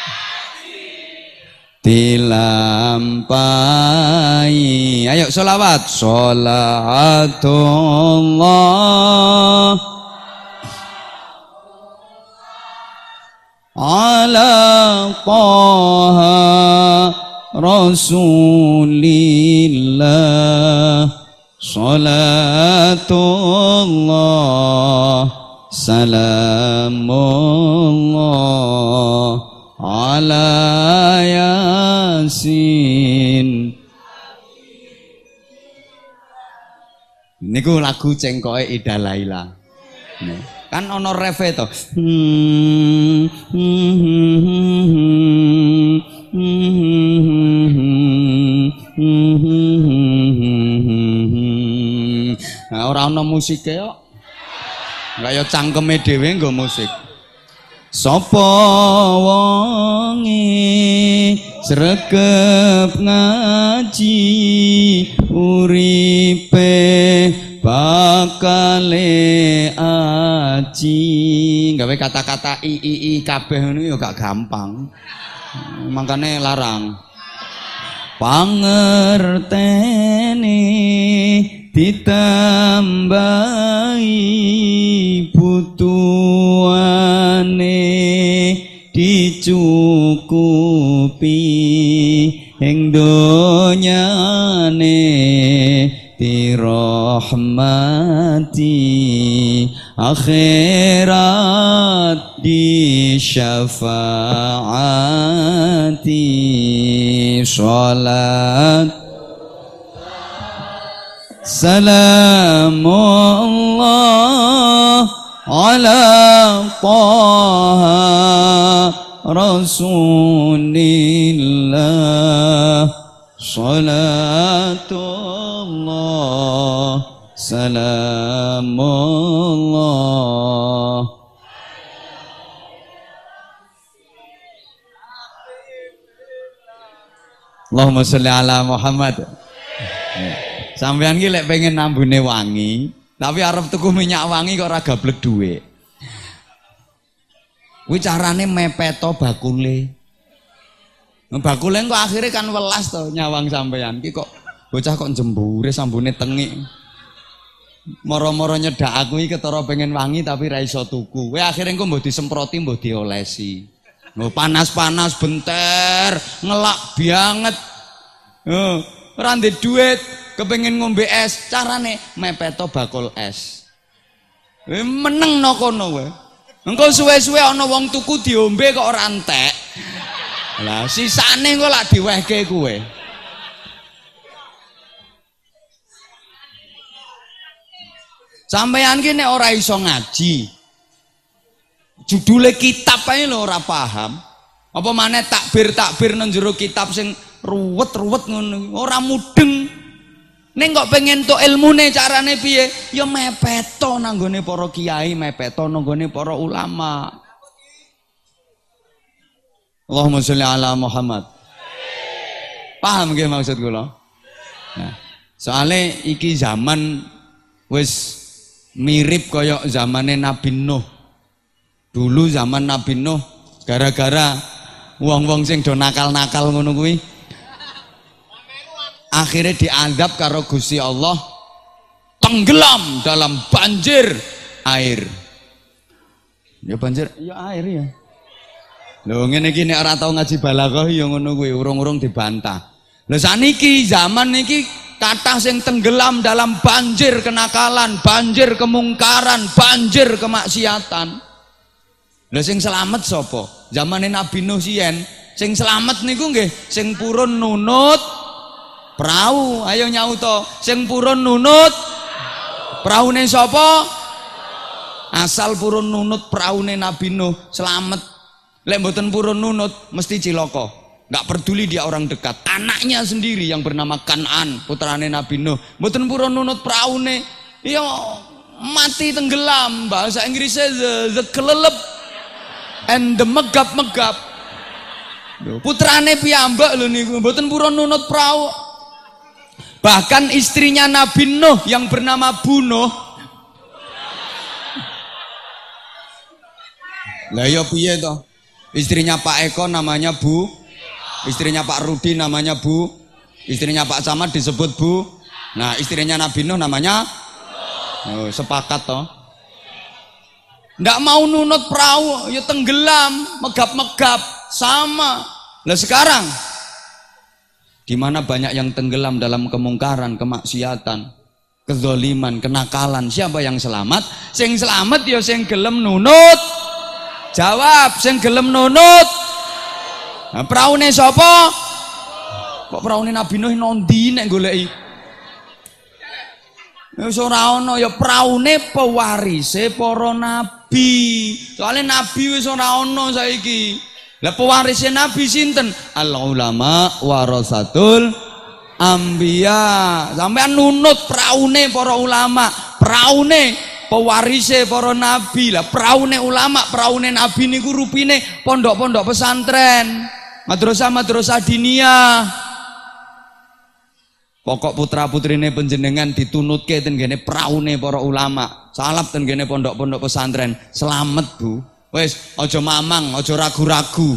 dilampahi. Ayo sholawat. Sholatullah ala taha rasulillah. Salatullah salamullah ala yasin. Niku lagu cengkoke Ida Laila. Kan ono refe to. Nah, ora ono musike kok. Kaya cangkeme dhewe nggo musik. Sapa wonge sregep ngaji uripe bakale aji. Gawe kata-kata i i i kabeh ngono ya gak gampang. Makane larang. Pangertene ditambahi butuhane dicukupi ing donyane dirahmati akhirat disyafaati. Sholat salamullah ala taha rasulillah. Salatullah salamullah. Allahumma sholli ala Muhammad. Sampeyan ki lek pengen nambune wangi, tapi arep tuku minyak wangi kok ora gablek dhuwit. Kuwi carane mepeto bakule. Bakule kok akhirnya kan welas to nyawang sampeyan. Ki kok bocah kok jembure sambune tengik. Moro-moro nyedak aku iki ketara pengen wangi tapi ra iso tuku. Kowe akhire engko mbok disemproti mbok diolesi. Lho panas-panas benter, ngelak banget. Heeh, ora ndek duit, kepengin ngombe es, carane mepeto bakul es. Eh meneng no kono kowe. Engko suwe-suwe ana wong tuku diombe kok ora entek. Lah sisane engko lak diwehke kowe. Sampeyan ki nek ora iso ngaji, judule kitab ae lho ora paham. Apa maneh takbir-takbir nang jero kitab sing ruwet-ruwet ngono, ora mudeng. Ning kok pengen tok ilmune carane piye? Ya mepeto nang gone para kiai, mepeto nang gone para ulama. Allahumma sholli ala Muhammad. Paham nggih maksud kula? Nah, soale iki zaman wis mirip kaya zamane Nabi Nuh. Dulu zaman Nabi Nuh gara-gara wong-wong sing do nakal-nakal ngono kuwi akhirnya diadab karo Gusti Allah, tenggelam dalam banjir air. Ya banjir, ya air ya. Lho ngene iki nek ora tau ngaji balaghah ya ngono kuwi, urung-urung dibantah. Lho saniki zaman niki kathah sing tenggelam dalam banjir kenakalan, banjir kemungkaran, banjir kemaksiatan. Lha sing selamat sapa? Zamane Nabi Nuh siyen, sing selamat niku nggih sing purun nunut prau. Ayo nyauto, sing purun nunut praune sapa? Asal purun nunut praune Nabi Nuh selamat. Lek mboten purun nunut mesti cilaka. Nggak peduli dia orang dekat, anaknya sendiri yang bernama Kan'an, putrane Nabi Nuh, mboten purun nunut praune, ya mati tenggelam. Bahasa Inggrisnya the, the kelelep and the megap-megap. Putrane piyambak lho niku, mboten purun nunut prau. Bahkan istrinya Nabi Nuh yang bernama Bu Nuh, lah ya piye toh? Istrinya Pak Eko namanya Bu, istrinya Pak Rudi namanya Bu, istrinya Pak Camat disebut Bu. Nah, istrinya Nabi Nuh namanya oh, sepakat toh. Ndak mau nunut perahu, ya tenggelam, megap-megap, sama. Lah sekarang di mana banyak yang tenggelam dalam kemungkaran, kemaksiatan, kezaliman, kenakalan, siapa yang selamat? Sing selamat ya sing gelem nunut. Jawab, sing gelem nunut. Nah, praune sapa? Kok praune Nabi Nuh nondi nek goleki? Ya ora ana ya praune pewarise para nabi. Soale nabi wis ora ana saiki. Lah pewarise nabi sinten? Al ulama warasatul anbiya. Sampeyan nunut praune para ulama, praune pewarise para nabi. Lah praune ulama, praune nabi niku rupine pondok-pondok pesantren, madrasah-madrasah diniyah. Pokok putra-putrine panjenengan ditunutke ten gene praune para ulama, salap ten gene pondok-pondok pesantren. Selamat, Bu. Wis aja mamang, aja ragu-ragu.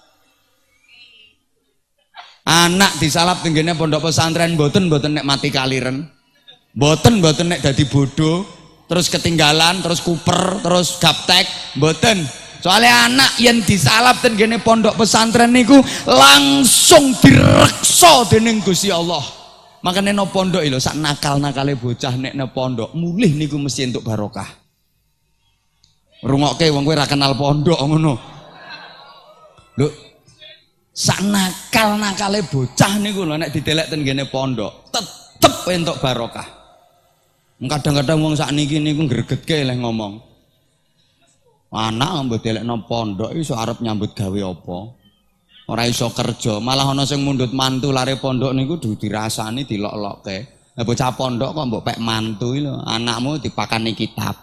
Anak disalap ten gene pondok pesantren mboten mboten nek mati kaliren. Mboten mboten nek dadi bodoh, terus ketinggalan, terus kuper, terus gaptek, mboten. Soalnya anak yang disalap ten gene pondok pesantren niku langsung direksa dening Gusti Allah. Makanya no pondok lho, sak nakal-nakale bocah nek no pondok mulih niku mesti untuk barokah. Rungokke wong kowe ora kenal pondok ngono. Lho, sak nakal-nakale bocah niku lho nek didelek ten gene pondok tetep entuk barokah. Kadang-kadang wong sakniki niku gregetke leh ngomong. Anak mbok delekno pondok iso arep nyambut gawe apa? Ora iso kerja, malah ana sing mundhut mantu lare pondok niku dudu dirasani dilok-lokke. Lah bocah pondok kok mbok pek mantu lho, anakmu dipakani kitab.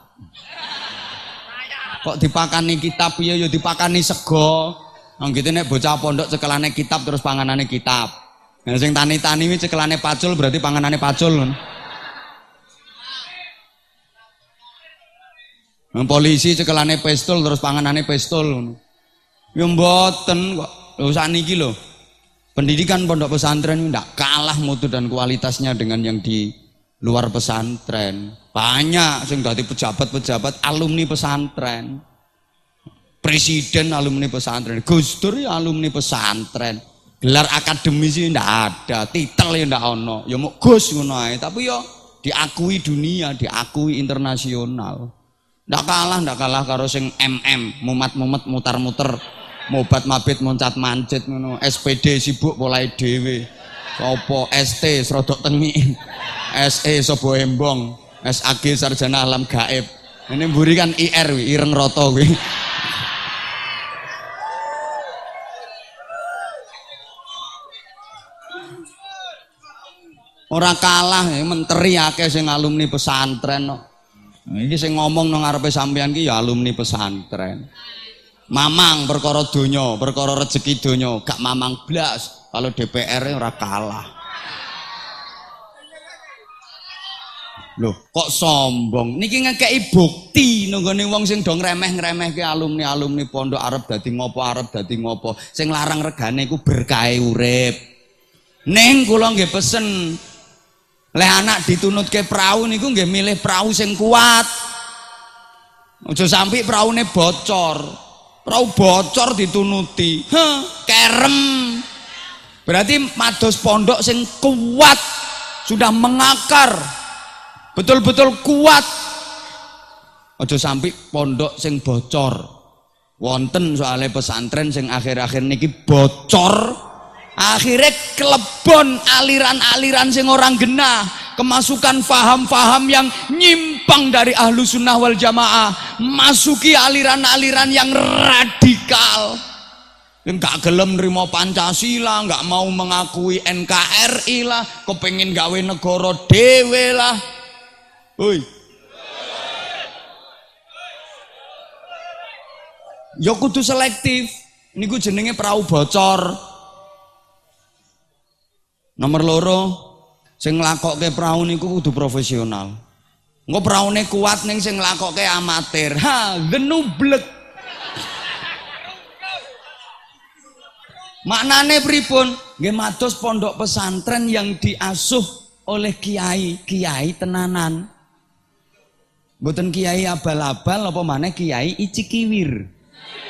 Kok dipakani kitab piye ya dipakani sego. Nang gitu nek bocah pondok cekelane kitab terus panganane kitab. Nah sing tani-tani kuwi cekelane pacul berarti panganane pacul. Nang polisi cekelane pistol terus panganane pistol. Ya mboten kok. Lho sakniki lho. Pendidikan pondok pesantren ndak kalah mutu dan kualitasnya dengan yang di luar pesantren. Banyak sing dadi pejabat-pejabat alumni pesantren. Presiden alumni pesantren, Gus Dur ya alumni pesantren. Gelar akademis ndak ada, titel ya ndak ono. Ya muk Gus ngono ae, tapi ya diakui dunia, diakui internasional. Ndak kalah, ndak kalah karo sing M M, mumat-mumet mutar-muter. Mobat mabit moncat mancit ngono. S P D sibuk mulai dhewe. Apa S T srodok tengi. S E sobo embong. S A G sarjana alam gaib. Ini mburi kan I R wi, ireng roto kuwi. Ora kalah ya, menteri akeh sing alumni pesantren kok. Nah, iki sing ngomong nang ngarepe sampean ki ya alumni pesantren. Mamang perkara donya, perkara rezeki donya, gak mamang blas. Kalau D P R ora kalah. Loh, kok sombong? Niki ngekeki bukti nenggone wong sing do ngremeh-ngremehke alumni-alumni pondok arep dadi ngopo, arep dadi ngopo. Sing larang regane iku berkahe urip. Ning kula nggih pesen leh anak ditunutke prau niku nggih milih prau sing kuat. Aja sampai praune bocor. Prau bocor ditunuti, heh, kerem. Berarti mados pondok sing kuat, sudah mengakar, betul-betul kuat. Ojo sampai pondok sing bocor. Wonten soalnya pesantren sing akhir-akhir niki bocor, akhirnya kelebon aliran-aliran sing orang genah, kemasukan faham-faham yang nyimpang dari ahlu sunnah wal jamaah, masuki aliran-aliran yang radikal, nggak gelem nerima Pancasila, nggak mau mengakui N K R I lah, kepengen gawe negara dewe lah. Oi. Ya kudu selektif. Niku jenenge perahu bocor. Nomor loro, sing nglakokke perahu niku kudu profesional. Engko praune kuat ning sing nglakokke amatir. Ha, genublek. Maknane pripun? Nggih mados pondok pesantren yang diasuh oleh kiai, kiai tenanan. Mboten kiai abal-abal apa maneh kiai icikiwir.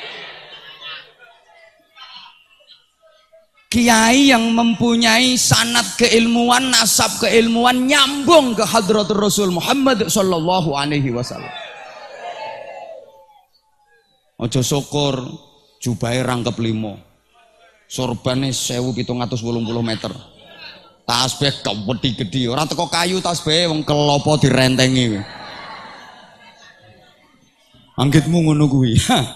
Kiai yang mempunyai sanad keilmuan, nasab keilmuan nyambung ke hadratul Rasul Muhammad sallallahu alaihi wasallam. Ojo syukur jubahe rangkep limo, sorbane sewu pitung atus wolung puluh meter, tasbih kewedi gedhi, ora teko kayu tasbih wong kelopo direntengi. Anggitmu ngono kuwi.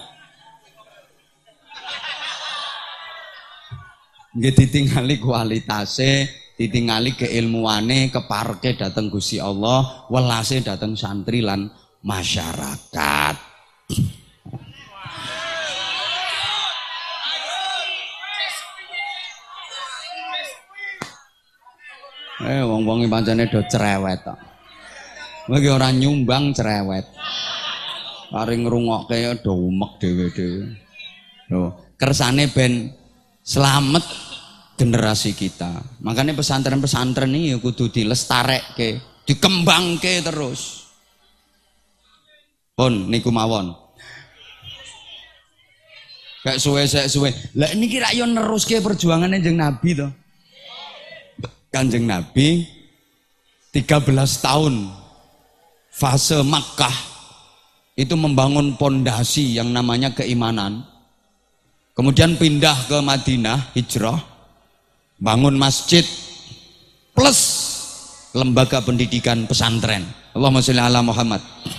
Nggih ditingali kualitasé, ditingali keilmuane, keparke dateng Gusti Allah, welase dateng santri lan masyarakat. Eh wong-wong pancene do cerewet tok. Lagi ora nyumbang cerewet. Paring ngrungokke do umek dhewe-dhewe. Lho, kersane ben selamat generasi kita. Makanya pesantren-pesantren ini kudu dilestarekke, dikembangke terus. Pun niku mawon. Gak suwe sek suwe. Lah niki rak yo neruske perjuangane Kanjeng Nabi to. Kanjeng Nabi tiga belas tahun fase Makkah itu membangun pondasi yang namanya keimanan. Kemudian pindah ke Madinah, hijrah, bangun masjid plus lembaga pendidikan pesantren. Allahumma sholli ala Muhammad.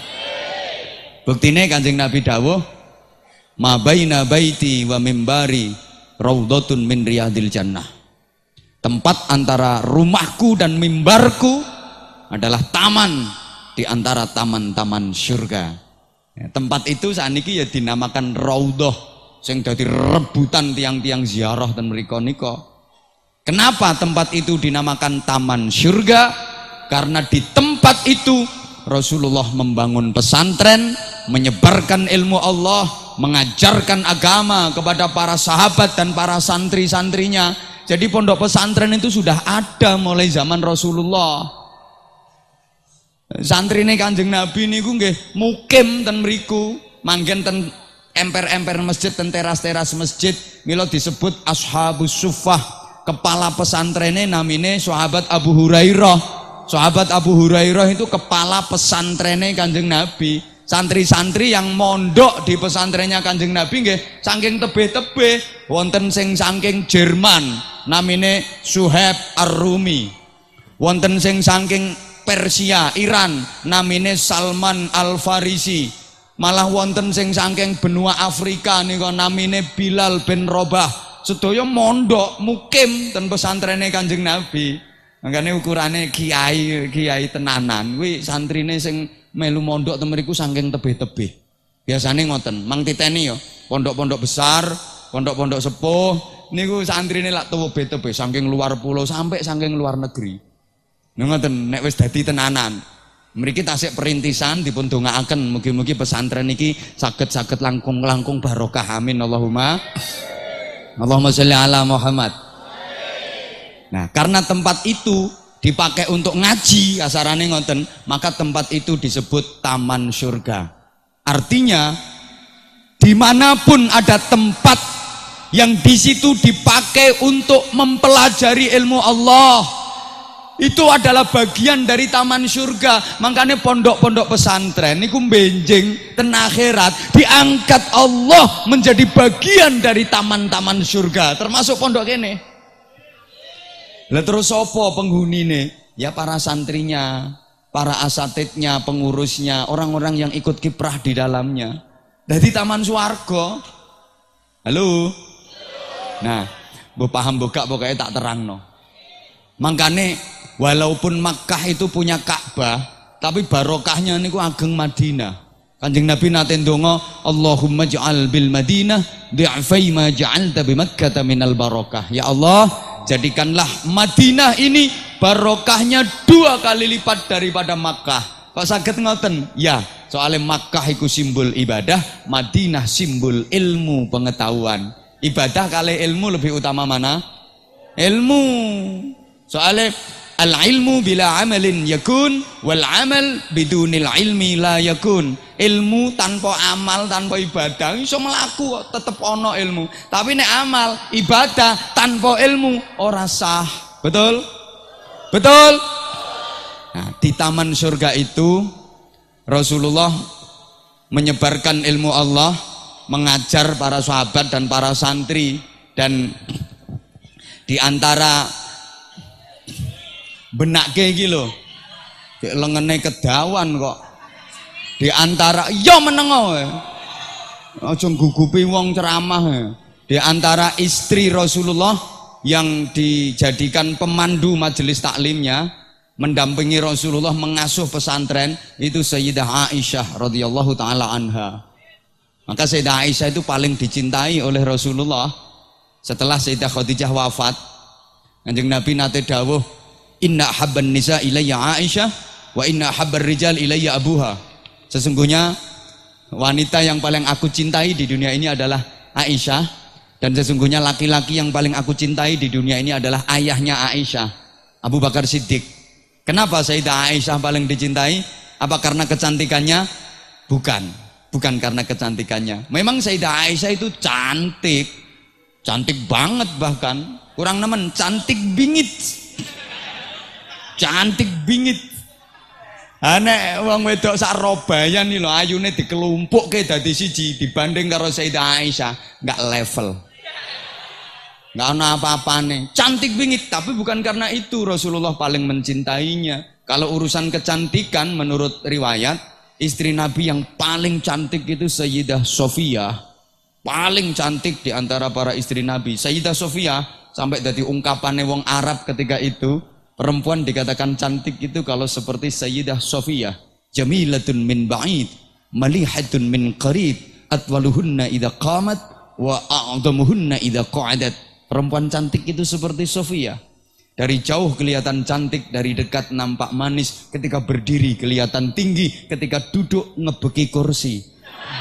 Buktine Kanjeng Nabi dawuh, "Ma baina baiti wa mimbari raudhatun min riyadil jannah." Tempat antara rumahku dan mimbarku adalah taman di antara taman-taman surga. Ya, tempat itu saat ini ya dinamakan raudhah. Sing dadi rebutan tiang-tiang ziarah dan mriko nika. Kenapa tempat itu dinamakan taman surga? Karena di tempat itu Rasulullah membangun pesantren, menyebarkan ilmu Allah, mengajarkan agama kepada para sahabat dan para santri-santrinya. Jadi pondok pesantren itu sudah ada mulai zaman Rasulullah. Santrine Kanjeng Nabi niku nggih mukim ten mriku, manggen ten emper-emper masjid, ten teras-teras masjid. Mila disebut Ashabus Suffah. Kepala pesantrennya namine sahabat Abu Hurairah. Sahabat Abu Hurairah itu kepala pesantrennya Kanjeng Nabi. Santri-santri yang mondok di pesantrennya Kanjeng Nabi nggih saking tebih-tebih, wonten sing saking Jerman namine Suhaib Ar-Rumi. Wonten sing saking Persia, Iran namine Salman Al-Farisi. Malah wonten sing saking benua Afrika nika namine Bilal bin Rabah. Sedaya mondok mukim ten pesantrene Kanjeng Nabi. Makane ukurane kiai kiai tenanan kuwi santrine sing melu mondok ten mriku saking tebih-tebih. Biasane ngoten, mang titeni ya, pondok-pondok besar, pondok-pondok sepuh niku santrine lak tebih-tebih saking luar pulau sampai saking luar negeri. Ngoten nek wis dadi tenanan. Mriki tasik perintisan dipun dongaaken mugi-mugi pesantren iki saged-saged langkung-langkung barokah amin Allahumma. Allahumma sholli ala Muhammad. Nah, karena tempat itu dipakai untuk ngaji kasarane ngoten, maka tempat itu disebut taman surga. Artinya dimanapun ada tempat yang di situ dipakai untuk mempelajari ilmu Allah, Itu adalah bagian dari taman surga. Makanya pondok-pondok pesantren niku benjing ten akhirat diangkat Allah menjadi bagian dari taman-taman surga, termasuk pondok kene. Lah terus sapa penghunine? Ya para santrinya, para asatidnya, pengurusnya, orang-orang yang ikut kiprah di dalamnya. Dari taman swarga. Halo. Nah, mbok paham mbok gak pokoknya tak terangno. Makanya walaupun Makkah itu punya Ka'bah, tapi barokahnya niku ageng Madinah. Kanjeng Nabi nate ndonga, Allahumma ja'al bil Madinah di'fai ma ja'alta bi Makkah minal barokah. Ya Allah, jadikanlah Madinah ini barokahnya dua kali lipat daripada Makkah. Kok saged ngoten? Ya, soalnya Makkah iku simbol ibadah, Madinah simbol ilmu pengetahuan. Ibadah kali ilmu lebih utama mana? Ilmu. Soalnya al-ilmu bila amalin yakun, wal amal bidunil ilmi la yakun. Ilmu tanpa amal, tanpa ibadah iso mlaku kok tetep ono ilmu. Tapi nek amal, ibadah tanpa ilmu ora sah. Betul? Betul? Nah, di taman surga itu Rasulullah menyebarkan ilmu Allah, mengajar para sahabat dan para santri, dan di antara benak kayak gitu loh, lengene kedawan kok. Di antara yo menengo, aja gugupi wong ceramah. Di antara istri Rasulullah yang dijadikan pemandu majelis taklimnya, mendampingi Rasulullah mengasuh pesantren, itu Sayyidah Aisyah radhiyallahu taala anha. Maka Sayyidah Aisyah itu paling dicintai oleh Rasulullah setelah Sayyidah Khadijah wafat. Kanjeng Nabi nate dawuh, inna habban nisa ilayya Aisyah wa inna habbar rijal ilayya abuha. Sesungguhnya wanita yang paling aku cintai di dunia ini adalah Aisyah, dan sesungguhnya laki-laki yang paling aku cintai di dunia ini adalah ayahnya Aisyah, Abu Bakar Siddiq. Kenapa Sayyidah Aisyah paling dicintai? Apa karena kecantikannya? Bukan, bukan karena kecantikannya. Memang Sayyidah Aisyah itu cantik, cantik banget, bahkan kurang nemen, cantik bingit. Cantik bingit. Ane wong wedok sak robayan iki lho ayune dikelumpukke dadi siji dibanding karo Sayyidah Aisyah, enggak level. Enggak ana apa-apane. Cantik bingit, tapi bukan karena itu Rasulullah paling mencintainya. Kalau urusan kecantikan menurut riwayat, istri Nabi yang paling cantik itu Sayyidah Sofia. Paling cantik di antara para istri Nabi. Sayyidah Sofia sampai dadi ungkapannya wong Arab ketika itu. Perempuan dikatakan cantik itu kalau seperti Sayyidah Sofia, jamilatun min ba'id, malihatun min qarib, atwaluhunna idza qamat wa a'dhamuhunna idza qa'adat. Perempuan cantik itu seperti Sofia. Dari jauh kelihatan cantik, dari dekat nampak manis, ketika berdiri kelihatan tinggi, ketika duduk ngebeki kursi.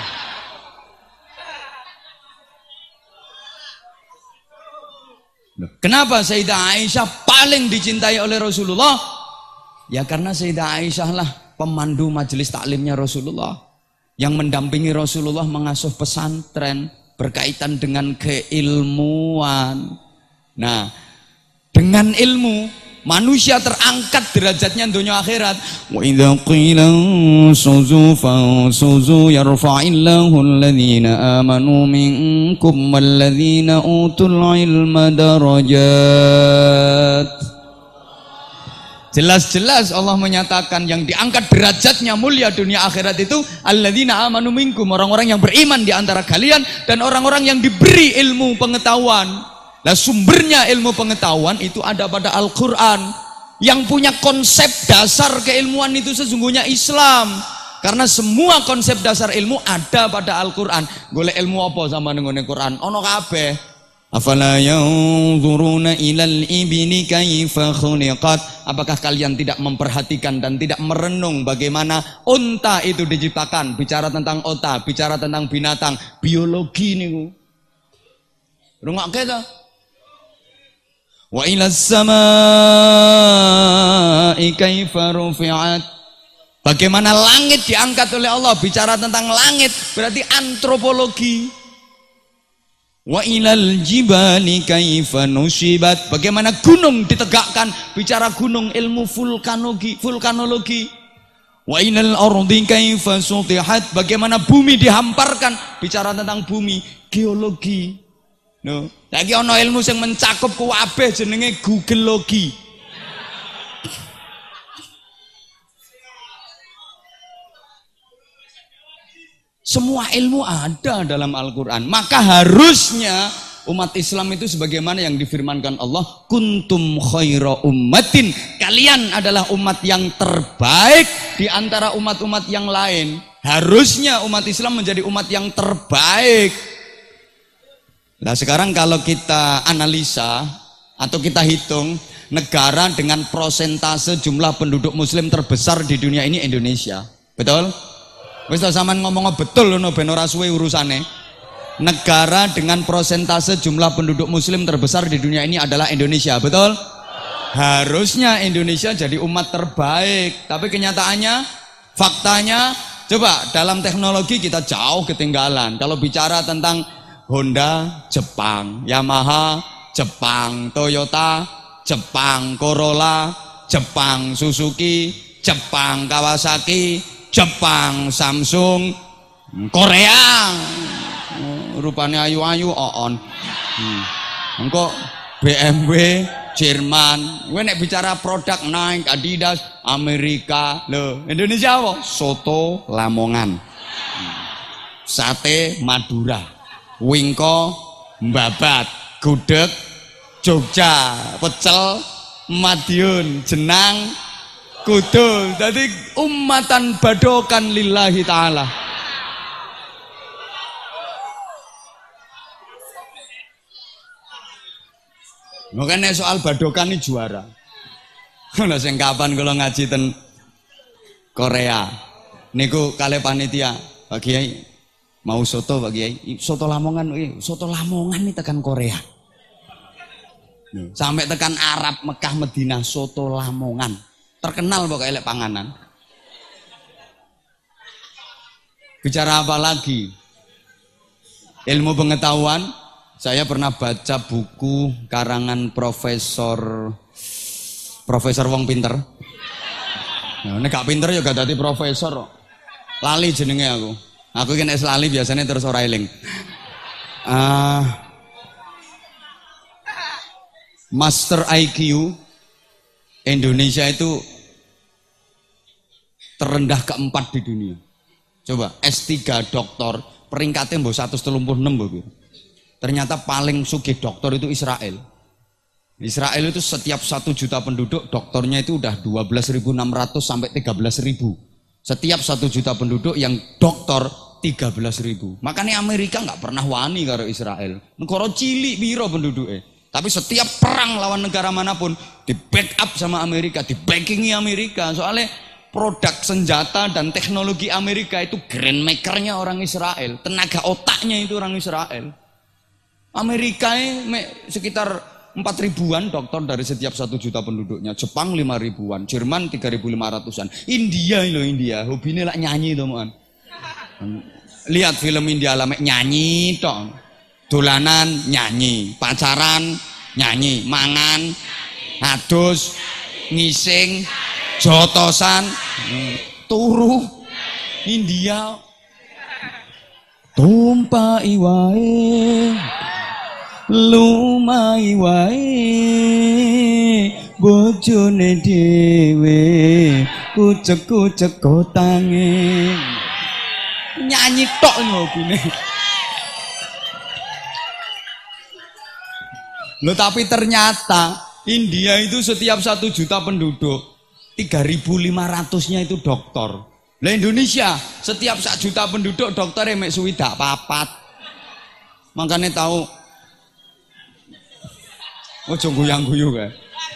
Kenapa Sayyidah Aisyah paling dicintai oleh Rasulullah? Ya karena Sayyidah Aisyah lah pemandu majelis taklimnya Rasulullah, yang mendampingi Rasulullah mengasuh pesantren berkaitan dengan keilmuan. Nah, dengan ilmu manusia terangkat derajatnya dunia akhirat. Wa idza qila suzu fasuzu yarfa'illahu alladhina amanu minkum walladhina utul ilma darajat. Jelas-jelas Allah menyatakan yang diangkat derajatnya mulia dunia akhirat itu alladzina amanu minkum, orang-orang yang beriman di antara kalian dan orang-orang yang diberi ilmu pengetahuan. Nah, sumbernya ilmu pengetahuan itu ada pada Al-Quran. Yang punya konsep dasar keilmuan itu sesungguhnya Islam. Karena semua konsep dasar ilmu ada pada Al-Quran. Golek ilmu apa sama dengan Al-Quran? Ono kabeh. Afala yanzuruna ilal ibni kaifa khuliqat. Apakah kalian tidak memperhatikan dan tidak merenung bagaimana unta itu diciptakan? Bicara tentang unta, bicara tentang binatang, biologi niku. Rungokke ta? Wa ilas samaa'i kaifa rufi'at. Bagaimana langit diangkat oleh Allah. Bicara tentang langit berarti antropologi. Wa ilal jibali kaifa nusibat. Bagaimana gunung ditegakkan, bicara gunung ilmu vulkanologi, vulkanologi. Wa ilal ardi kaifa sutihat. Bagaimana bumi dihamparkan, bicara tentang bumi, geologi. No, lagi ono ilmu yang mencakup kabeh jenenge Googleologi. Semua ilmu ada dalam Al-Quran. Maka harusnya umat Islam itu sebagaimana yang difirmankan Allah, kuntum khaira ummatin, kalian adalah umat yang terbaik di antara umat-umat yang lain. Harusnya umat Islam menjadi umat yang terbaik. Nah sekarang kalau kita analisa atau kita hitung, negara dengan prosentase jumlah penduduk muslim terbesar di dunia ini Indonesia. Betul? Wis ta sampean ngomong betul ngono ben ora suwe urusane. Negara dengan prosentase jumlah penduduk muslim terbesar di dunia ini adalah Indonesia, betul? Harusnya Indonesia jadi umat terbaik, tapi kenyataannya, faktanya, coba dalam teknologi kita jauh ketinggalan. Kalau bicara tentang Honda, Jepang, Yamaha, Jepang, Toyota, Jepang, Corolla, Jepang, Suzuki, Jepang, Kawasaki, Jepang, Samsung, Korea, rupanya ayu-ayu, on. Hmm. Engkau B M W, Jerman, gue nek bicara produk Nike, Adidas, Amerika, lo Indonesia apa? Soto Lamongan, sate Madura, wingko Babat, gudeg Jogja, pecel Madiun, jenang Kudul. Jadi umatan badokan lillahi ta'ala. Makanya soal badokan ini juara. Kalau sing kapan kalau ngaji ten Korea, niku kali panitia, Pak Kiai mau soto Pak Kiai, soto Lamongan, soto Lamongan ini tekan Korea. Sampai tekan Arab, Mekah, Madinah, soto Lamongan. Terkenal pokoknya elek panganan. Bicara apa lagi? Ilmu pengetahuan. Saya pernah baca buku karangan Profesor Profesor Wong Pinter. Nah, ini gak pinter ya gak dadi profesor. Lali jenenge aku. Aku kan es lali biasanya terus ora eling. Uh, Master I Q Indonesia itu terendah keempat di dunia. Coba S tiga doktor peringkatnya mbok seratus tiga puluh enam mbok. Ternyata paling sugih doktor itu Israel. Israel itu setiap satu juta penduduk dokternya itu udah dua belas ribu enam ratus sampai tiga belas ribu. Setiap satu juta penduduk yang dokter tiga belas ribu. Makanya Amerika nggak pernah wani karo Israel. Negara cilik biro penduduknya. Tapi setiap perang lawan negara manapun di backup sama Amerika, di backingi Amerika. Soalnya produk senjata dan teknologi Amerika itu grand makernya orang Israel. Tenaga otaknya itu orang Israel. Amerika ini sekitar empat ribuan dokter dari setiap satu juta penduduknya. Jepang lima ribuan, Jerman tiga ribu lima ratusan. India loh India, hobinya lah nyanyi teman. Lihat film India lah nyanyi toh. Dolanan nyanyi, pacaran nyanyi, mangan, adus, ngising, jotosan, turu, India, tumpai wae, lumai wae, bojone dhewe, kucek-kucek kotange, nyanyi tok ngobine. Loh tapi ternyata India itu setiap satu juta penduduk tiga ribu lima ratusnya itu dokter. Lah Indonesia setiap satu juta penduduk dokter emek suwidak papat. Makanya tahu ojo guyang-guyu kae.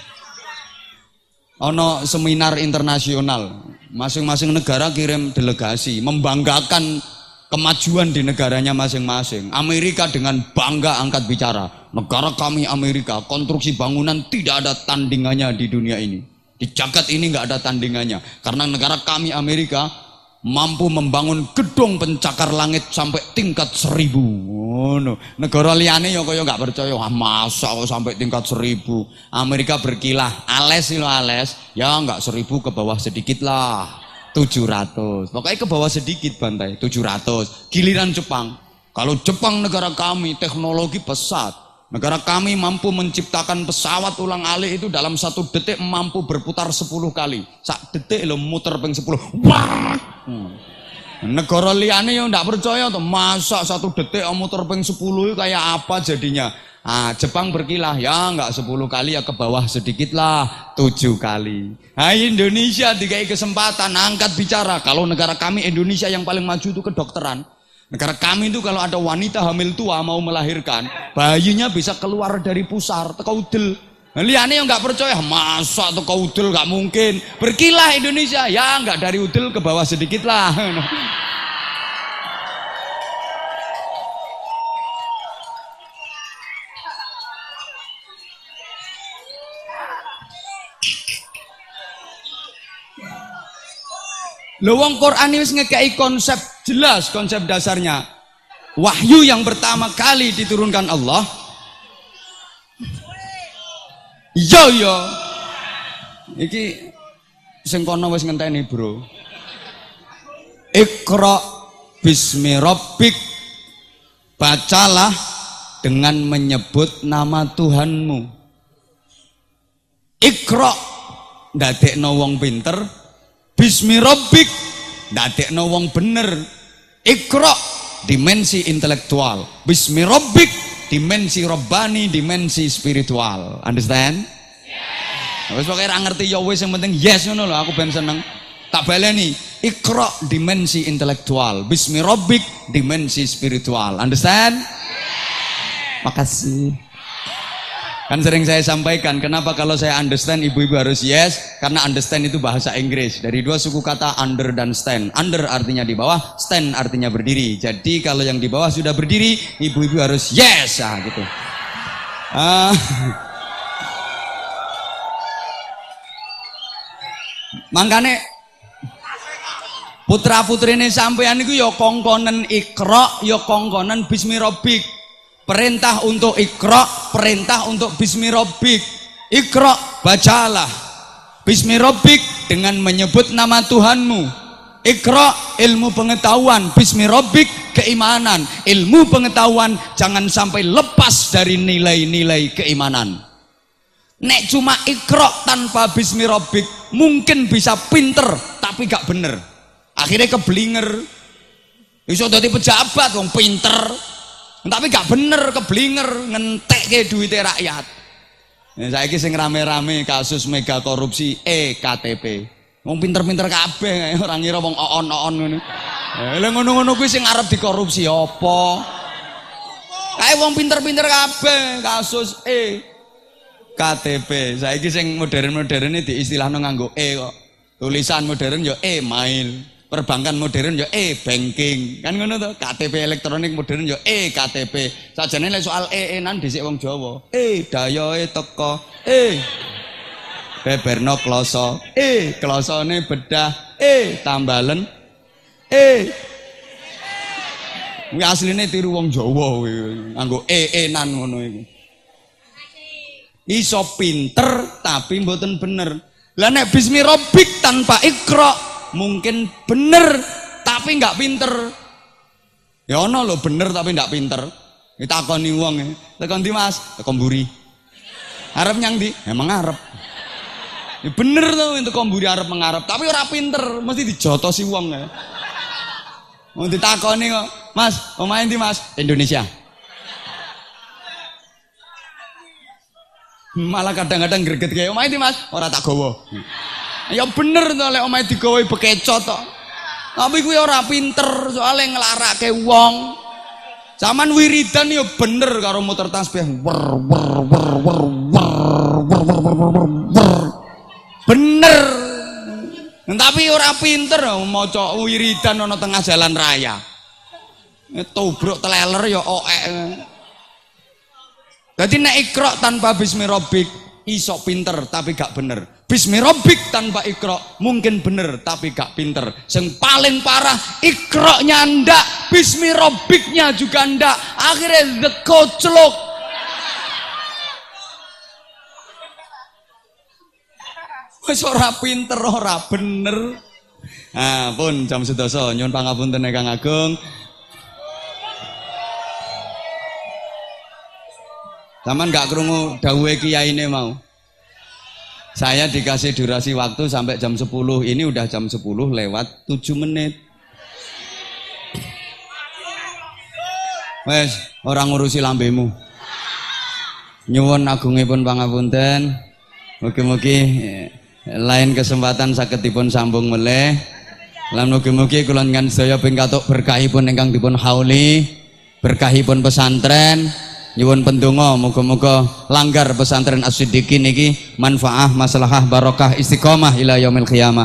Ono seminar internasional, masing-masing negara kirim delegasi membanggakan kemajuan di negaranya masing-masing. Amerika dengan bangga angkat bicara, negara kami Amerika, konstruksi bangunan tidak ada tandingannya di dunia ini. Di jagat ini nggak ada tandingannya. Karena negara kami Amerika mampu membangun gedung pencakar langit sampai tingkat seribu. ngono. Negara liyane ya kaya gak percaya, ah masa kok sampai tingkat seribu. Amerika berkilah, ales sih lo ales, ya enggak seribu ke bawah sedikit lah, tujuh ratus. Pokoknya ke bawah sedikit bantai, tujuh ratus. Giliran Jepang, kalau Jepang negara kami teknologi pesat, negara kami mampu menciptakan pesawat ulang alik itu dalam satu detik mampu berputar sepuluh kali. Sak detik lo muter peng sepuluh. Wah. Hmm. Negara liane yang ndak percaya tuh, masa satu detik muter peng sepuluh kayak apa jadinya? Ah, Jepang berkilah, ya enggak sepuluh kali ya ke bawah sedikit lah, tujuh kali. Nah, Indonesia dikai kesempatan angkat bicara. Kalau negara kami Indonesia yang paling maju itu kedokteran. Negara kami itu kalau ada wanita hamil tua mau melahirkan, bayinya bisa keluar dari pusar, teko udel. Liane yang nggak percaya, masa teko udel nggak mungkin. Berkilah Indonesia, ya nggak dari udel ke bawah sedikit lah. Lewong Quran ini ngekei konsep jelas, konsep dasarnya. Wahyu yang pertama kali diturunkan Allah. Yo yo. Iki sing kono wis ngenteni, Bro. Iqra bismi rabbik. Bacalah dengan menyebut nama Tuhanmu. Iqra ndadekno wong pinter. Bismi rabbik ndadekno wong bener. Iqra dimensi intelektual. Bismi rabbik dimensi robbani, dimensi spiritual. Understand? Yes. Wis pokoke ra ngerti ya wis, yang penting yes ngono lho, aku ben seneng. Tak baleni. Iqra dimensi intelektual. Bismi rabbik dimensi spiritual. Understand? Yes. Makasih. Kan sering saya sampaikan, kenapa kalau saya understand ibu-ibu harus yes? Karena understand itu bahasa Inggris. Dari dua suku kata under dan stand. Under artinya di bawah, stand artinya berdiri. Jadi kalau yang di bawah sudah berdiri, ibu-ibu harus yes. Nah, gitu. Uh, Makanya putra-putrine sampean iku ya kongkonen Iqra, ya kongkonen bismi rabbik. Perintah untuk Iqra, perintah untuk bismi rabbik. Iqra, bacalah bismi rabbik dengan menyebut nama Tuhanmu. Iqra, ilmu pengetahuan. Bismi rabbik, keimanan. Ilmu pengetahuan jangan sampai lepas dari nilai-nilai keimanan. Nek cuma Iqra tanpa bismi rabbik mungkin bisa pinter tapi gak bener. Akhirnya keblinger. Iso dadi pejabat wong pinter tapi gak bener, keblinger, ngentek ke duitnya rakyat. Nah, saiki sing rame-rame kasus mega korupsi E K T P. Wong pinter-pinter kabeh, ora ngira wong oon-oon ngono. Lah ngono-ngono kuwi sing arep dikorupsi apa? Kae wong pinter-pinter kabeh kasus E K T P. Saiki sing modern-modern iki diistilahno nganggo E kok. Tulisan modern ya e-mail. Perbankan modern ya e-banking. Kan ngono to, K T P elektronik modern ya e-K T P. Sajane lek soal e-enan dhisik wong Jawa. E dayoe teko, e beberno kloso, e klosone bedah, e tambalen, e kuwi asline tiru wong Jawa kuwi, nganggo e-enan ngono iku. Iso pinter tapi mboten bener. Lah nek bismi rabbik tanpa Iqra mungkin bener tapi nggak pinter. Ya ono lho bener tapi nggak pinter. Ditakoni wong e, "Tekan ndi Mas?" "Tekan mburi." "Arep nyang ndi?" "Emang arep." Ya bener to entuk mburi arep mengarep, tapi ora pinter, mesti dijotosi wong e. Mau ditakoni kok, "Mas, omahe ndi Mas?" "Indonesia." Malah kadang-kadang greget kayak, "Omahe ndi Mas?" "Ora tak gawa." Ya bener to lek omahe digawe bekecot to. Tapi kuwi ora pinter soalnya nglarake wong. Zaman wiridan ya bener karo muter tasbih. Wer wer wer wer wer wer. Bener. Tapi ora pinter maca wiridan ana tengah jalan raya. Tobruk teleler ya oek. Dadi nek Iqra tanpa bismi rabbik iso pinter tapi gak bener. Bismi rabbik tanpa Iqra mungkin bener tapi gak pinter. Yang paling parah Iqra nyandak bismi robbiknya juga ndak, akhirnya the koclok. Wis ora pinter ora bener. Ah pun jam sedasa nyuwun pangapunten Kang Agung. Taman gak krungu dawuhe kiyaine mau. Saya dikasih durasi waktu sampai jam sepuluh. Ini udah jam sepuluh lewat tujuh menit. Wes, orang ngurusi lambemu. Nyuwun agungipun pangapunten. Mugi-mugi lain kesempatan saged dipun sambung meleh. Lan mugi-mugi kula ngan sedaya ping katuk berkahipun ingkang dipun hauli, berkahipun pesantren. Nyuwun pendonga muga-muga langgar pesantren As-Siddiqin niki manfaah, maslahah, barokah, istiqomah ila yaumil qiyamah.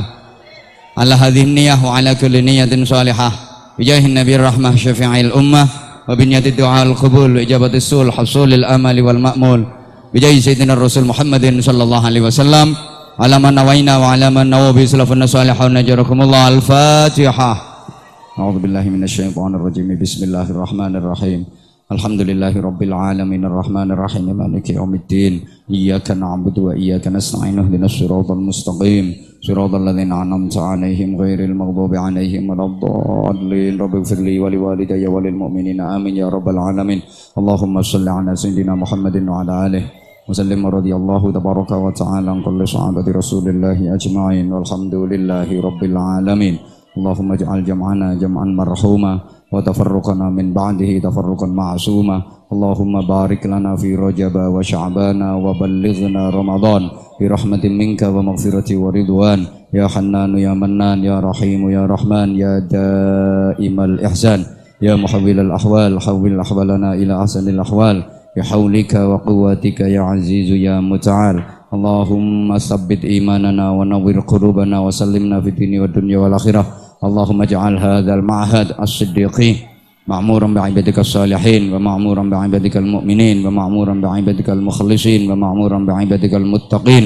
Ala hadhihi niyyah wa ala kulli niyyatin shalihah. Bijahin nabiyir rahmah syafi'il ummah wa binyati du'aul qabul wa ijabatis sul hasulil amali wal ma'mul. Bijahi sayyidina Rasul Muhammadin sallallahu alaihi wasallam. Ala man nawaina wa ala man nawabi salafun salihun najarakumullah. Al-Fatihah. A'udzubillahi minasyaitonir rajim. Bismillahirrahmanirrahim. Alhamdulillahi rabbil alamin arrahmanir rahim maliki yaumiddin iyyaka na'budu wa iyyaka nasta'in ihdinas siratal mustaqim siratal ladzina an'amta 'alaihim ghairil maghdubi 'alaihim waladdallin rabbighfirli wa liwalidayya wa lil mu'minina amin ya rabbal alamin. Allahumma shalli 'ala sayidina Muhammadin wa 'ala alihi wa sallim radhiyallahu tabaraka wa ta'ala an kulli sahabati rasulillahi ajma'in walhamdulillahi rabbil alamin. Allahumma ij'al jam'ana jam'an marhuma wa tafarruqana min ba'dihi tafarruqan ma'suma. Allahumma barik lana fi Rajab wa Sya'bana wa ballighna Ramadan bi rahmatin minka wa maghfirati wa ridwan ya Hannanu ya Mannan ya Rahimu ya Rahman ya Daimal Ihsan ya Muhawwilal ahwal hawwil ahwalana ila ahsanil ahwal bi haulika wa quwwatika ya Azizu ya Muta'al. Allahumma sabbit imanana wa nawwir qulubana wa sallimna fid dini wad dunya wal akhirah. Allahumma ja'al hadzal ma'had as-siddiqi ma'muran bi'ibadikal salihin wa ma'muran bi'ibadikal mu'minin wa ma'muran bi'ibadikal mukhlisin wa ma'muran bi'ibadikal muttaqin.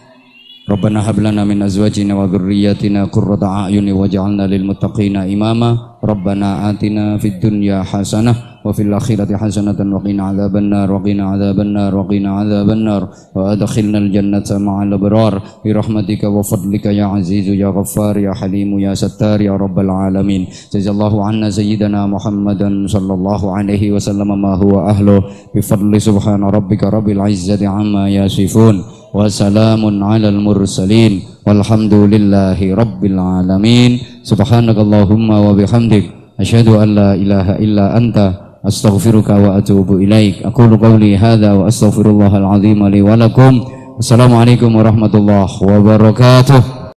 Rabbana hab lana min azwajina wa dhurriyyatina qurrata a'yuni waj'alna lil muttaqina imama. Rabbana atina fid dunya hasanah wa fil akhirati hasanatan wa qina adzabannar wa qina adzabannar wa qina adzabannar wa adkhilnal jannata ma'al abrar bi rahmatika wa fadlika ya azizu ya ghaffar ya halimu ya sattar ya rabbal alamin. Jazallahu anna sayyidana Muhammadan sallallahu alaihi wasallam ma huwa ahlu bi fadli subhana rabbika rabbil izzati amma yasifun wa salamun alal mursalin walhamdulillahi rabbil alamin. Subhanakallahumma wa bihamdik asyhadu an la ilaha illa anta astaghfiruka wa atubu ilaik. Aqulu qawli hadza wa astaghfirullahal azim li wa lakum. Wassalamualaikum warahmatullahi wabarakatuh.